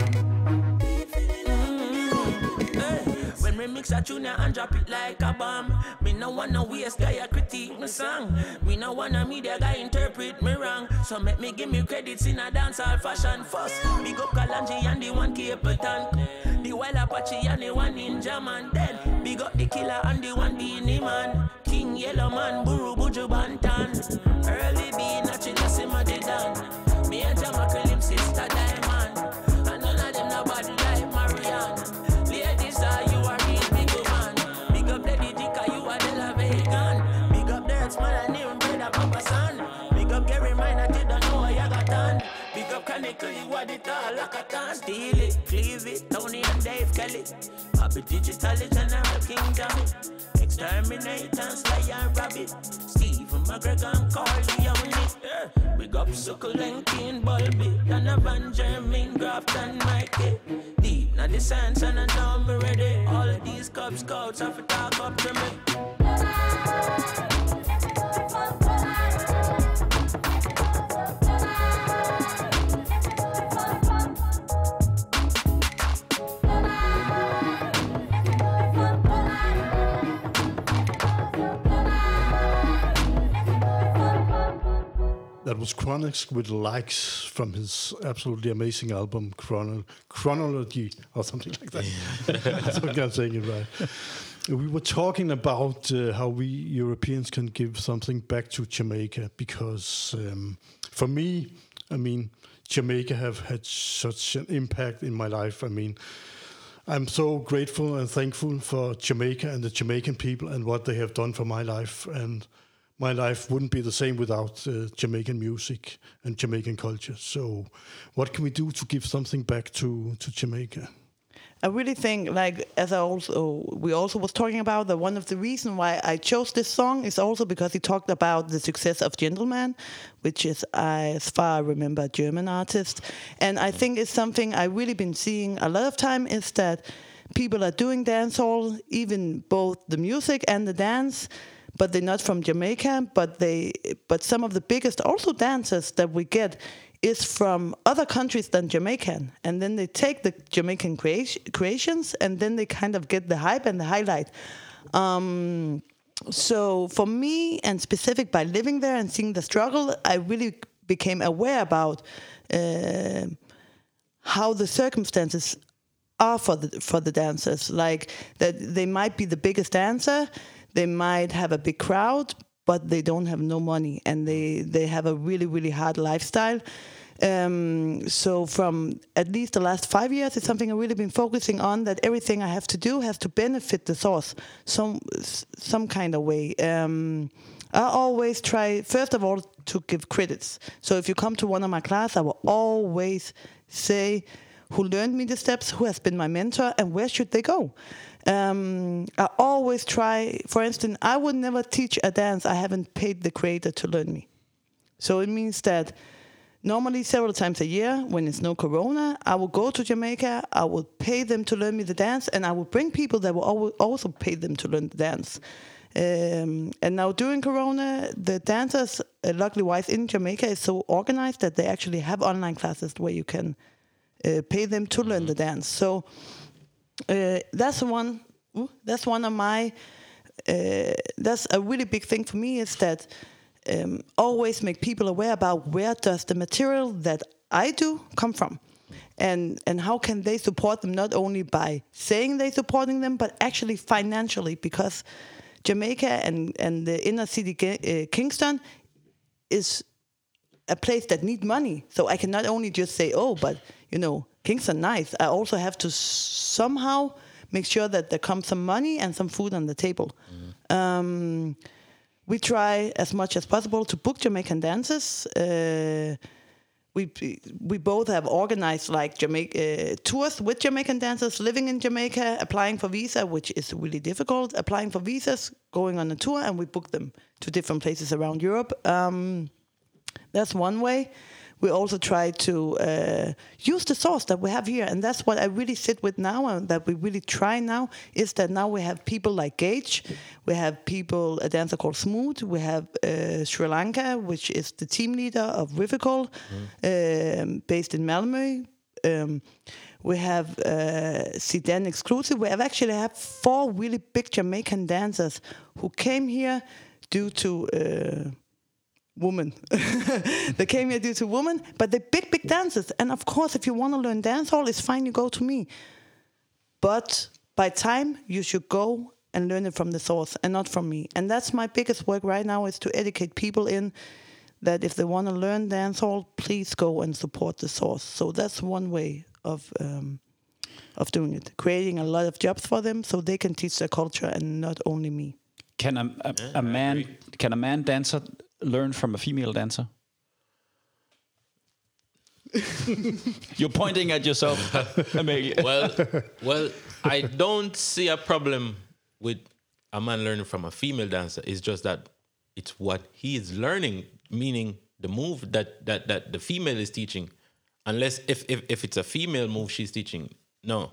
Speaker 6: When we mix a tune and drop it like a bomb. Me no wanna waste guy a critique me song. Me no wanna media guy interpret me wrong. So make me give me credits in a dancehall fashion first. Big up Kalanji and the one Capleton. The Wild Apache and the one Ninja Man. Then big up the Killer and the one Beanie Man. King Yellow Man, Buru Buju Bantan. Early B, Nachila Simadidan. Me and Jamaica Lim sister Diamond. And none of them nobody like Marianne. Ladies are you are real big man. Big up Lady Dika, you are the La Vegan. Big up Dirts man and even brother Papa Son. Big up Gary Minor, you don't know what you got done. Big up Kaneko, you are the tall Lakatan. Steal it, cleave it, Tony and Dave Kelly. Happy Digital General King Jammy. Exterminate and Sly and Rabbit. Stephen McGregor and Carly on it. Big up Suckle and Kane Bulby. Donovan, Jermaine, Graft and Mikey. Deep now the science and I know me ready. All of these Cub Scouts have to talk up to me.
Speaker 3: That was Chronix with Likes from his absolutely amazing album Chronology or something like that. I think I'm saying it right. We were talking about how we Europeans can give something back to Jamaica because for me, I mean, Jamaica have had such an impact in my life. I mean, I'm so grateful and thankful for Jamaica and the Jamaican people and what they have done for my life. And my life wouldn't be the same without Jamaican music and Jamaican culture. So what can we do to give something back to Jamaica?
Speaker 5: I really think, like, we also was talking about, that one of the reasons why I chose this song is also because he talked about the success of Gentleman, which is, as far I remember, a German artist. And I think it's something I've really been seeing a lot of time is that people are doing dancehall, even both the music and the dance, but they're not from Jamaica. But some of the biggest also dancers that we get is from other countries than Jamaican, and then they take the Jamaican creations, and then they kind of get the hype and the highlight. So for me, and specific by living there and seeing the struggle, I really became aware about how the circumstances are for the dancers. Like that they might be the biggest dancer, they might have a big crowd, but they don't have no money, and they have a really, really hard lifestyle. So from at least the last 5 years, it's something I've really been focusing on, that everything I have to do has to benefit the source some kind of way. I always try, first of all, to give credits. So if you come to one of my class, I will always say who learned me the steps, who has been my mentor, and where should they go. I always try, for instance, I would never teach a dance I haven't paid the creator to learn me. So it means that normally several times a year, when it's no corona, I will go to Jamaica, I will pay them to learn me the dance, and I will bring people that will also pay them to learn the dance. And now during corona, the dancers, luckily wise in Jamaica, is so organized that they actually have online classes where you can pay them to learn the dance. So that's one of my, that's a really big thing for me, is that always make people aware about where does the material that I do come from, and how can they support them, not only by saying they're supporting them, but actually financially, because Jamaica and the inner city Kingston is a place that need money. So I can not only just say, oh, but Kingston nice. I also have to somehow make sure that there comes some money and some food on the table. We try as much as possible to book Jamaican dancers. We both have organized like tours with Jamaican dancers living in Jamaica, applying for visa, which is really difficult. Applying for visas, going on a tour, and we book them to different places around Europe. That's one way. We also try to use the source that we have here, and that's what I really sit with now, and that we really try now, is that now we have people like Gage, we have people, a dancer called Smooth, we have Sri Lanka, which is the team leader of Rivical, based in Malmö. We have Zidane Exclusive. We have actually 4 really big Jamaican dancers who came here due to women. They came here due to women, but they're big dancers. And of course, if you want to learn dancehall, it's fine, you go to me. But by time, you should go and learn it from the source and not from me. And that's my biggest work right now, is to educate people in that if they want to learn dancehall, please go and support the source. So that's one way of doing it, creating a lot of jobs for them so they can teach their culture and not only me.
Speaker 2: Can a man dancer learn from a female dancer? You're pointing at yourself, Amelia.
Speaker 4: Well, I don't see a problem with a man learning from a female dancer. It's just that it's what he is learning, meaning the move that the female is teaching. Unless if it's a female move she's teaching, no.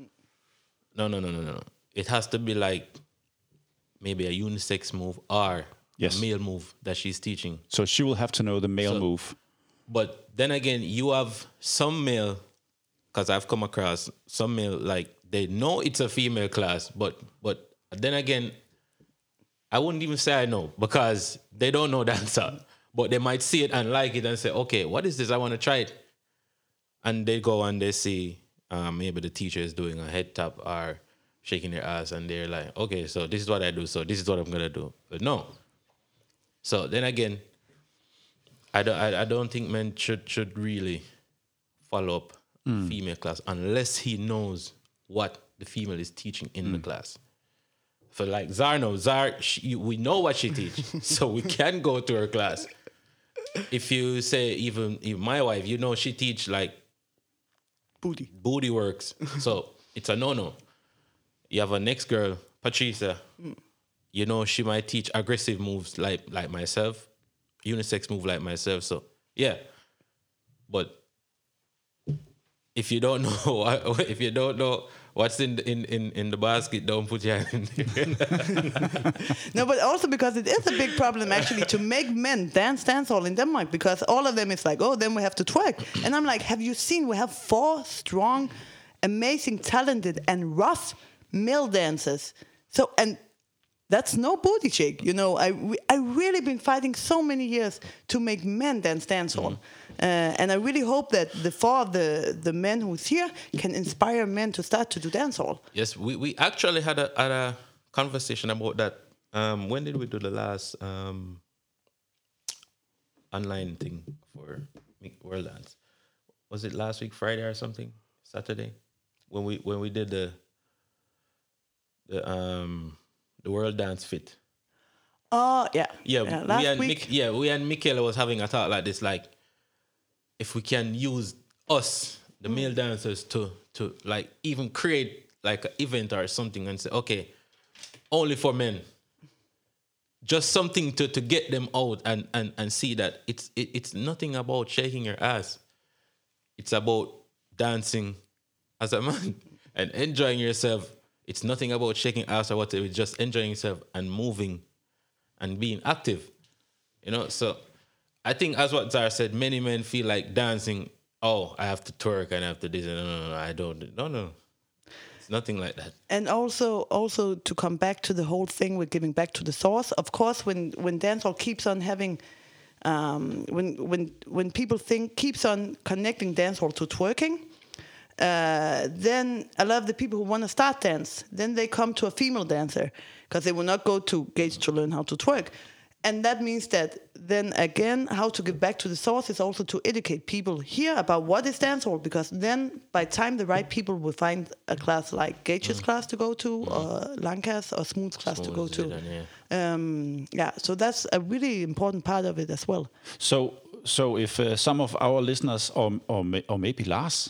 Speaker 4: It has to be like maybe a unisex move or a male move that she's teaching.
Speaker 2: So she will have to know the male move.
Speaker 4: But then again, you have some male, because I've come across some male, like they know it's a female class, but then again, I wouldn't even say I know, because they don't know dancer. But they might see it and like it and say, okay, what is this? I want to try it. And they go and they see maybe the teacher is doing a head tap or shaking their ass, and they're like, okay, so this is what I do, so this is what I'm going to do. But no. So then again, I don't think men should really follow up female class unless he knows what the female is teaching in the class. For like Zar, we know what she teaches, so we can go to her class. If you say even my wife, she teach like booty works, so it's a no. You have a next girl, Patricia. She might teach aggressive moves like myself, unisex move like myself. So yeah, but if you don't know what's in the basket, don't put your hand in there.
Speaker 5: No, but also because it is a big problem actually to make men dance dancehall in Denmark, because all of them is like, oh, then we have to twerk. And I'm like, have you seen we have 4 strong, amazing, talented and rough male dancers. So, and that's no booty shake, you know. I really been fighting so many years to make men dance dancehall. And I really hope that the 4 of the men who's here can inspire men to start to do dancehall.
Speaker 4: Yes, we actually had a conversation about that. When did we do the last online thing for World Dance? Was it last week, Friday or something? Saturday? When we did the World Dance Fit.
Speaker 5: Oh, yeah.
Speaker 4: Yeah,
Speaker 5: last week.
Speaker 4: We and Michaela was having a talk like this, like, if we can use us, the male dancers, to like even create like an event or something and say, okay, only for men. Just something to get them out and see that it's nothing about shaking your ass. It's about dancing as a man and enjoying yourself. It's nothing about shaking ass or whatever. It's just enjoying yourself and moving and being active. You know, so I think, as what Zara said, many men feel like dancing, oh, I have to twerk and I have to do this. No, I don't. No. It's nothing like that. And
Speaker 5: also to come back to the whole thing with giving back to the source, of course, when dancehall keeps on having, when people keeps on connecting dancehall to twerking, then a lot of the people who want to start dance, then they come to a female dancer because they will not go to Gage to learn how to twerk. And that means that then again, how to give back to the source is also to educate people here about what is dancehall, because then by the time the right people will find a class like Gage's class to go to, or Lanka's or Smooth's class to go to. So that's a really important part of it as well.
Speaker 2: So if some of our listeners or maybe Lars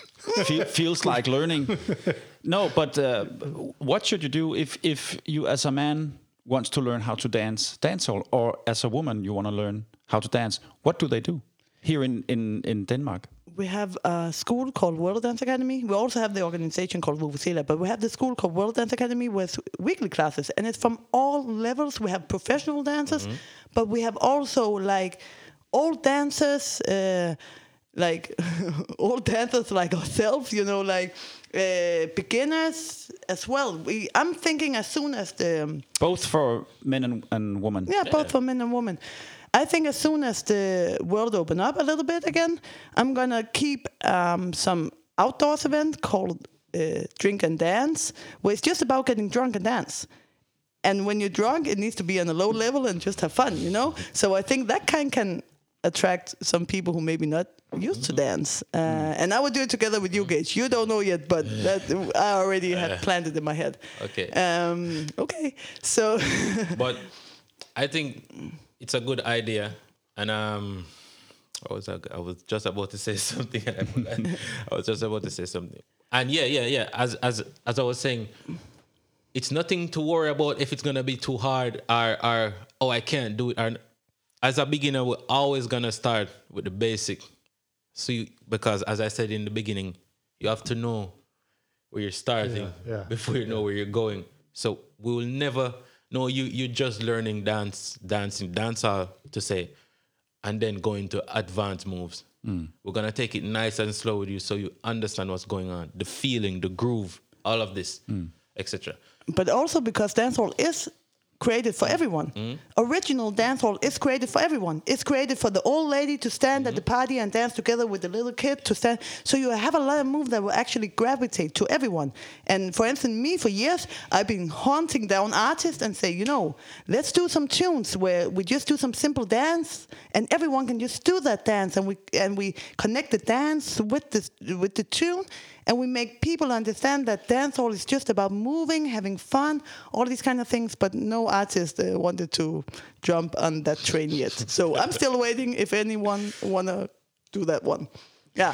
Speaker 2: feels like learning, no, but what should you do if you as a man wants to learn how to dance dancehall, or as a woman you want to learn how to dance? What do they do here in Denmark?
Speaker 5: We have a school called World Dance Academy. We also have the organization called Vuvuzela, but we have the school called World Dance Academy with weekly classes, and it's from all levels. We have professional dancers, but we have also like old dancers, like old dancers like ourselves, you know, like beginners as well. I'm thinking as soon as the...
Speaker 2: Both for men and women.
Speaker 5: Yeah, both for men and women. I think as soon as the world open up a little bit again, I'm going to keep some outdoors event called Drink and Dance, where it's just about getting drunk and dance. And when you're drunk, it needs to be on a low level and just have fun, you know? So I think that can attract some people who maybe not used to dance. And I would do it together with you, Gage. You don't know yet, but that I already had planned it in my head.
Speaker 4: Okay.
Speaker 5: Okay. So...
Speaker 4: But I think it's a good idea. And I was just about to say something. And I forgot. I was just about to say something. And yeah. As I was saying, it's nothing to worry about if it's going to be too hard or oh, I can't do it. Or, as a beginner, we're always going to start with the basic. So because as I said in the beginning, you have to know where you're starting before you know where you're going. So we will never know you're just learning dancehall to say, and then go into advanced moves. We're going to take it nice and slow with you so you understand what's going on, the feeling, the groove, all of this, etc.
Speaker 5: But also because dancehall is created for everyone. Original dancehall is created for everyone. It's created for the old lady to stand at the party and dance together with the little kid to stand. So you have a lot of moves that will actually gravitate to everyone. And for instance, me, for years, I've been hunting down artists and say, you know, let's do some tunes where we just do some simple dance and everyone can just do that dance, and we connect the dance with the tune. And we make people understand that dancehall is just about moving, having fun, all these kind of things. But no artist wanted to jump on that train yet. So I'm still waiting if anyone want to do that one. Yeah.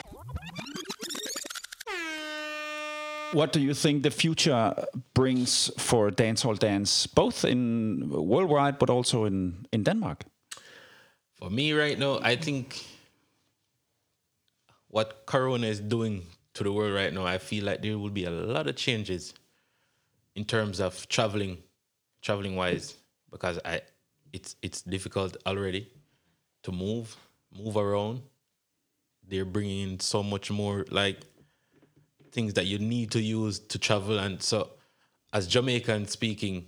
Speaker 2: What do you think the future brings for dancehall dance, both in worldwide but also in Denmark?
Speaker 4: For me right now, I think what Corona is doing to the world right now, I feel like there will be a lot of changes in terms of traveling wise, because it's difficult already to move around. They're bringing in so much more like things that you need to use to travel, and so as Jamaican speaking,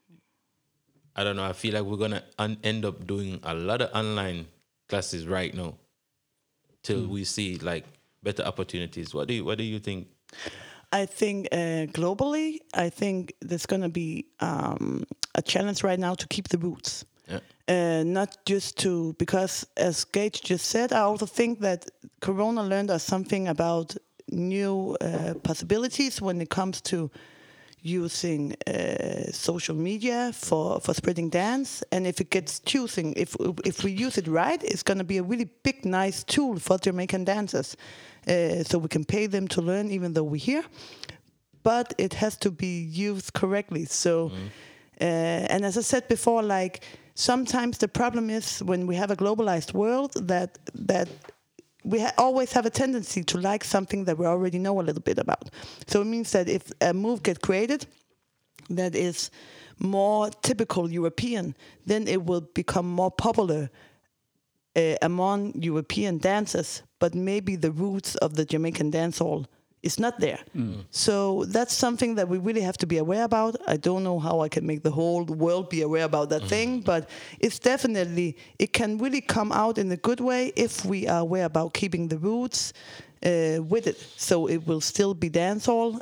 Speaker 4: I don't know, I feel like we're gonna end up doing a lot of online classes right now till we see like better opportunities. What do you think?
Speaker 5: I think globally, I think there's going to be a challenge right now to keep the roots. Yeah. Not just to, because as Gage just said, I also think that Corona learned us something about new possibilities when it comes to using social media for spreading dance. And if it gets choosing, if we use it right, it's going to be a really big, nice tool for Jamaican dancers. So we can pay them to learn even though we're here. But it has to be used correctly. So, and as I said before, like sometimes the problem is when we have a globalized world that we always have a tendency to like something that we already know a little bit about. So it means that if a move gets created that is more typical European, then it will become more popular among European dancers, but maybe the roots of the Jamaican dancehall is not there. So that's something that we really have to be aware about. I don't know how I can make the whole world be aware about that thing, but it's definitely, it can really come out in a good way if we are aware about keeping the roots with it. So it will still be dancehall.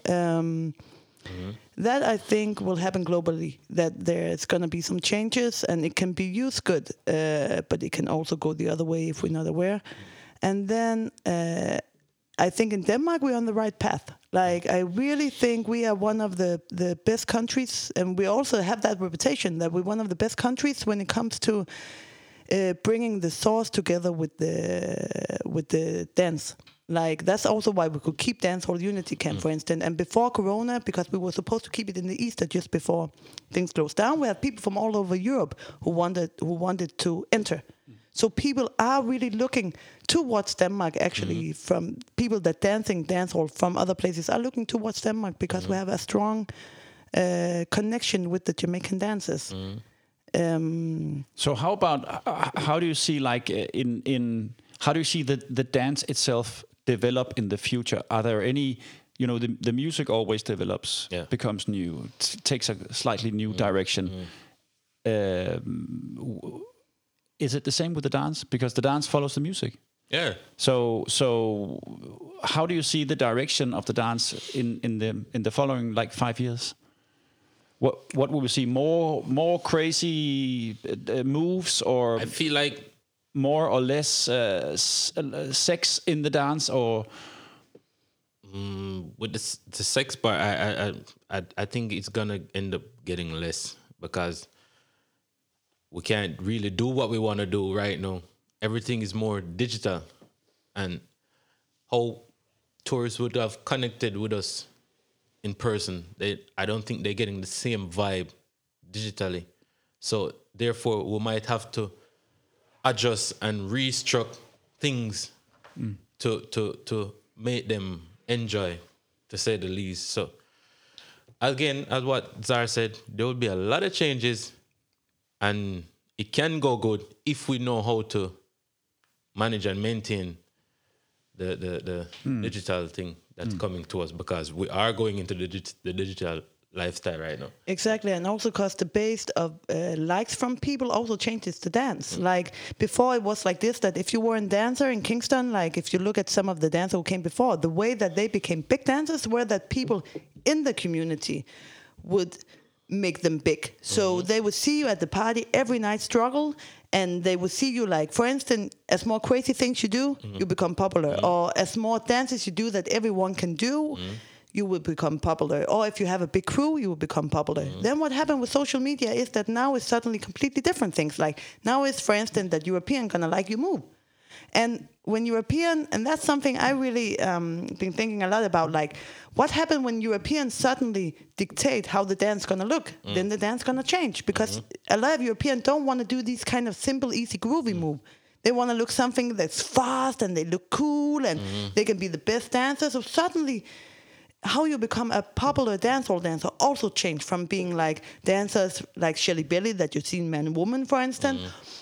Speaker 5: That I think will happen globally, that there's going to be some changes and it can be used good, but it can also go the other way if we're not aware. And then I think in Denmark we're on the right path. Like I really think we are one of the best countries, and we also have that reputation that we're one of the best countries when it comes to bringing the source together with the dance. Like that's also why we could keep Dancehall Unity Camp, for instance. And before Corona, because we were supposed to keep it in the Easter just before things closed down, we had people from all over Europe who wanted to enter. So people are really looking towards Denmark, actually, from people that dancehall from other places are looking towards Denmark because we have a strong connection with the Jamaican dancers.
Speaker 2: So how about, how do you see like how do you see the dance itself develop in the future? Are there any, the music always develops, becomes new, takes a slightly new direction. Is it the same with the dance? Because the dance follows the music.
Speaker 4: Yeah.
Speaker 2: So how do you see the direction of the dance in the following like 5 years? What will we see? More crazy moves, or
Speaker 4: I feel like
Speaker 2: more or less sex in the dance, or
Speaker 4: with the sex part, I think it's gonna end up getting less because we can't really do what we want to do right now. Everything is more digital, and how tourists would have connected with us in person, I don't think they're getting the same vibe digitally. So therefore, we might have to adjust and restructure things to make them enjoy, to say the least. So again, as what Zara said, there will be a lot of changes, and it can go good if we know how to manage and maintain the digital thing that's coming to us, because we are going into the digital lifestyle right now.
Speaker 5: Exactly, and also because the base of likes from people also changes the dance. Like before it was like this, that if you were a dancer in Kingston, like if you look at some of the dancers who came before, the way that they became big dancers were that people in the community would make them big. So they would see you at the party every night struggle, and they would see you, like, for instance, as more crazy things you do, you become popular. Or as more dances you do that everyone can do, you will become popular. Or if you have a big crew, you will become popular. Then what happened with social media is that now it's suddenly completely different things. Like now it's, for instance, that European gonna like you move. And when European, and that's something I really been thinking a lot about, like what happened when Europeans suddenly dictate how the dance gonna look? Then the dance gonna change, because a lot of Europeans don't want to do these kind of simple, easy, groovy move. They want to look something that's fast and they look cool and they can be the best dancer. So suddenly, how you become a popular dancehall dancer also changed from being like dancers like Shelly Belly that you see in Man and Woman, for instance,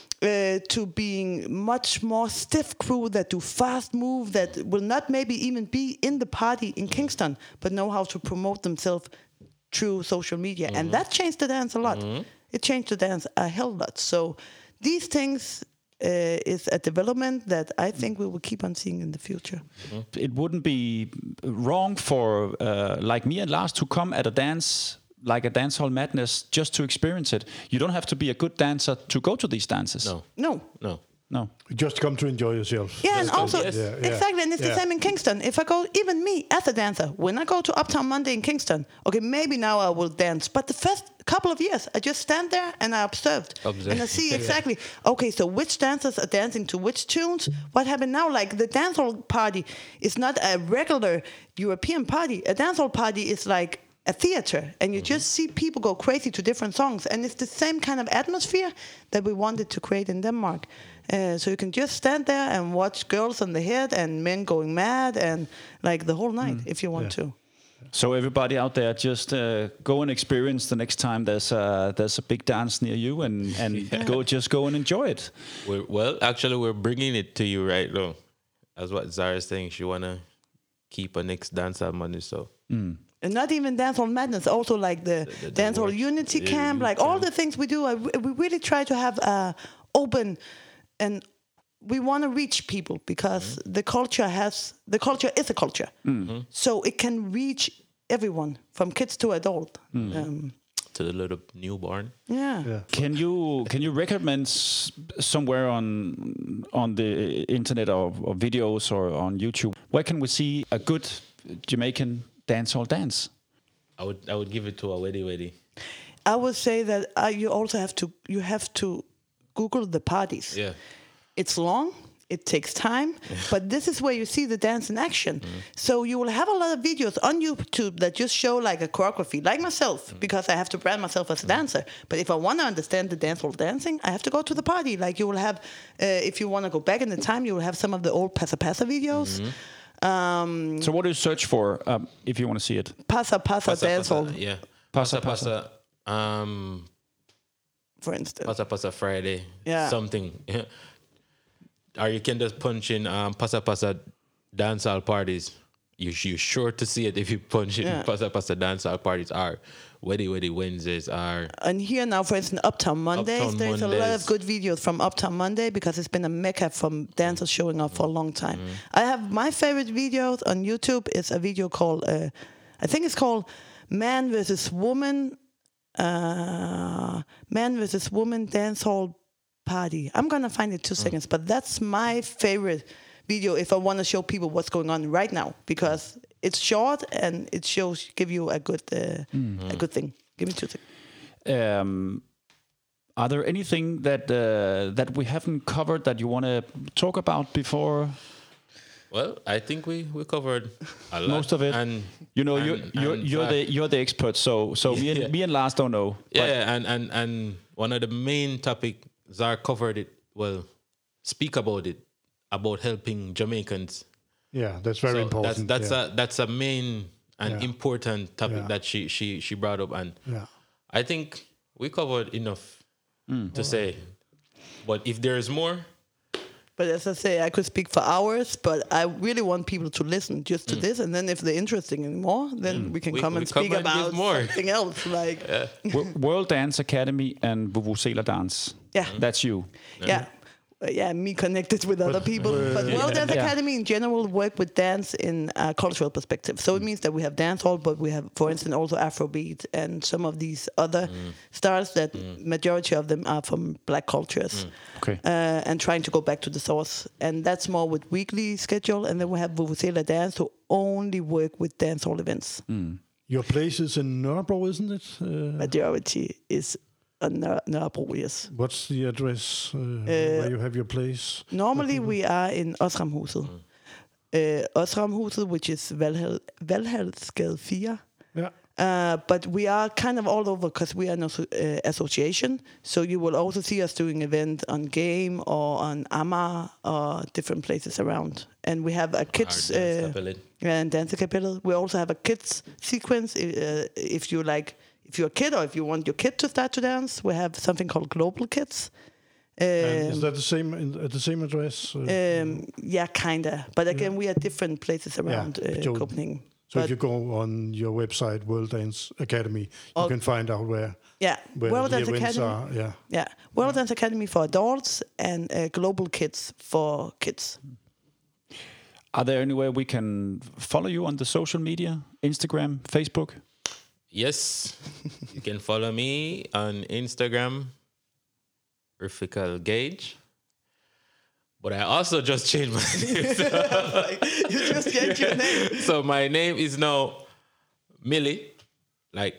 Speaker 5: to being much more stiff crew that do fast move that will not maybe even be in the party in Kingston, but know how to promote themselves through social media. And that changed the dance a lot. It changed the dance a hell lot. So these things is a development that I think we will keep on seeing in the future.
Speaker 2: It wouldn't be wrong for like me and Lars to come at a dance like a dancehall madness just to experience it. You don't have to be a good dancer to go to these dances.
Speaker 5: No.
Speaker 3: Just come to enjoy yourself.
Speaker 5: Yeah, and also,
Speaker 3: Yeah.
Speaker 5: exactly, and it's the same in Kingston. If I go, even me as a dancer, when I go to Uptown Monday in Kingston, okay, maybe now I will dance, but the first couple of years, I just stand there and I observed. And I see exactly, okay, so which dancers are dancing to which tunes, what happened now, like the dancehall party is not a regular European party. A dancehall party is like a theater, and you just see people go crazy to different songs, and it's the same kind of atmosphere that we wanted to create in Denmark. So you can just stand there and watch girls on the head and men going mad and like the whole night if you want to.
Speaker 2: So everybody out there, just go and experience the next time there's a big dance near you, and go and enjoy it.
Speaker 4: We're bringing it to you right now. That's what Zara's saying. She wanna keep a next dancehall money, so.
Speaker 5: And not even Dancehall Madness, also like the Dancehall Unity Camp, like all the things we do. We really try to have open, and we want to reach people because the culture is a culture, so it can reach everyone from kids to adult.
Speaker 4: To the little newborn.
Speaker 5: Yeah.
Speaker 2: Can you recommend somewhere on the internet or videos or on YouTube? Where can we see a good Jamaican dancehall dance?
Speaker 4: I would give it to a Weddy.
Speaker 5: I would say that you also have to Google the parties.
Speaker 4: Yeah,
Speaker 5: it's long. It takes time, but this is where you see the dance in action. So you will have a lot of videos on YouTube that just show like a choreography, like myself, because I have to brand myself as a dancer. But if I want to understand the dancehall dancing, I have to go to the party. Like you will have, if you want to go back in the time, you will have some of the old Passa Passa videos.
Speaker 2: So what do you search for if you want to see it?
Speaker 5: Passa dancehall.
Speaker 4: Yeah.
Speaker 2: Passa.
Speaker 5: For instance.
Speaker 4: Passa Friday.
Speaker 5: Yeah.
Speaker 4: Something. Or you can just punch in Passa dancehall parties. You're sure to see it if you punch in Passa dancehall parties or Weddy Wednesdays are.
Speaker 5: And here now, for instance, Uptown Mondays. There's a lot of good videos from Uptown Monday because it's been a mecca from dancers showing up for a long time. I have my favorite videos on YouTube is a video called, I think it's called Man vs. Woman Dancehall Party. I'm gonna find it 2 seconds, but that's my favorite video if I want to show people what's going on right now because it's short and it give you a good thing. Give me 2 seconds.
Speaker 2: Are there anything that we haven't covered that you want to talk about before?
Speaker 4: Well, I think we covered a lot.
Speaker 2: Most of it.
Speaker 4: And
Speaker 2: you're the expert, so me and Lars don't know.
Speaker 4: Yeah, and one of the main topic Zar covered it. Well, speak about it, about helping Jamaicans.
Speaker 3: Yeah, that's very important.
Speaker 4: That's a main and important topic that she brought up, and I think we covered enough to say. But if there is more.
Speaker 5: But as I say, I could speak for hours, but I really want people to listen just to this, and then if they're interested in more, then we can come and speak about something else. Like
Speaker 2: World Dance Academy and Vuvuzela Dance.
Speaker 5: Yeah.
Speaker 2: That's you.
Speaker 5: Yeah, me connected with other people. But World Dance Academy in general work with dance in a cultural perspective. So it means that we have dancehall, but we have, for instance, also Afrobeat and some of these other styles that majority of them are from black cultures.
Speaker 2: Okay.
Speaker 5: And trying to go back to the source. And that's more with weekly schedule. And then we have Vuvuzela Dance who only work with dancehall events.
Speaker 3: Your place is in Nørrebro, isn't it?
Speaker 5: Majority is Nørrebro, yes.
Speaker 3: What's the address where you have your place?
Speaker 5: Normally we are in Osramhuset. Osramhuset, which is Valhalsgade 4.
Speaker 3: Yeah.
Speaker 5: But we are kind of all over because we are an association. So you will also see us doing events on Game or on Amager or different places around. And we have a kids and Danskerkapellet. We also have a kids sequence. If you're a kid or if you want your kid to start to dance, we have something called Global Kids.
Speaker 3: Is that the same at the same address?
Speaker 5: Yeah, kinda. But again, we are different places around Copenhagen.
Speaker 3: So if you go on your website, World Dance Academy, you can find out where
Speaker 5: World
Speaker 3: the
Speaker 5: Dance
Speaker 3: events
Speaker 5: Academy.
Speaker 3: are.
Speaker 5: World Dance Academy for adults and Global Kids for kids.
Speaker 2: Are there anywhere we can follow you on the social media? Instagram, Facebook?
Speaker 4: Yes, you can follow me on Instagram, Riffical Gage. But I also just changed my name.
Speaker 5: You just changed your name.
Speaker 4: So my name is now Millie, like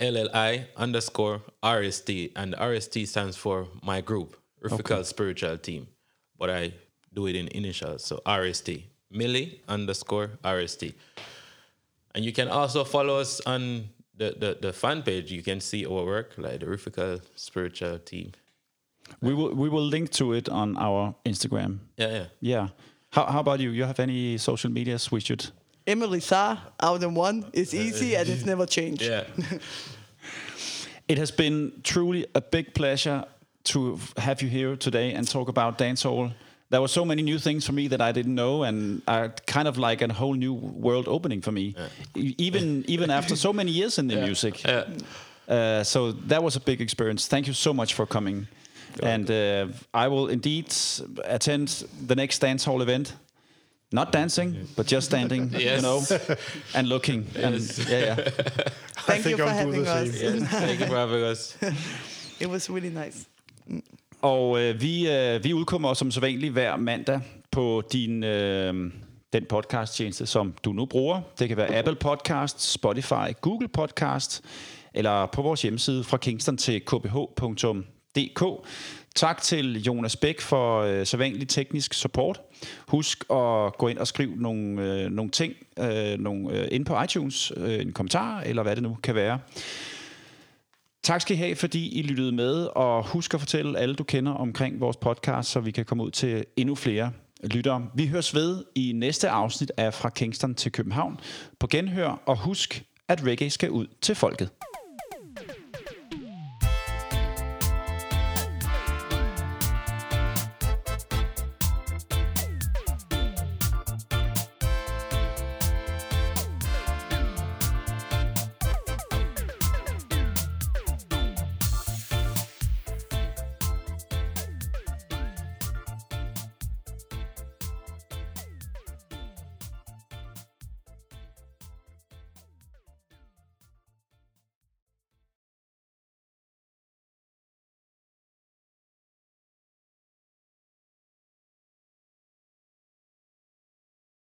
Speaker 4: MILLI_RST. And RST stands for my group, Riffical Spiritual Team. But I do it in initials, so RST. Millie_RST. And you can also follow us on the fan page. You can see our work, like the Riffical Spiritual Team.
Speaker 2: We will link to it on our Instagram.
Speaker 4: Yeah.
Speaker 2: How about you? You have any social medias we should?
Speaker 5: Emily Saar, out in one, is easy and it's never changed.
Speaker 4: Yeah.
Speaker 2: It has been truly a big pleasure to have you here today and talk about dancehall. There were so many new things for me that I didn't know, and kind of like a whole new world opening for me, even after so many years in the music. So that was a big experience. Thank you so much for coming. And I will indeed attend the next dancehall event. Not dancing, but just standing, and looking.
Speaker 4: Yes.
Speaker 2: And,
Speaker 5: Thank you for having us.
Speaker 4: Yes, thank you for having us.
Speaker 5: It was really nice.
Speaker 2: Og vi udkommer som sædvanligt hver mandag på den podcasttjeneste, som du nu bruger. Det kan være Apple Podcast, Spotify, Google Podcast, eller på vores hjemmeside fra Kingston til kph.dk. Tak til Jonas Bæk for sædvanlig teknisk support. Husk at gå ind og skrive nogle ting ind på iTunes, en kommentar, eller hvad det nu kan være. Tak skal I have, fordi I lyttede med, og husk at fortælle alle, du kender omkring vores podcast, så vi kan komme ud til endnu flere lyttere. Vi høres ved i næste afsnit af Fra Kingston til København på genhør, og husk, at reggae skal ud til folket.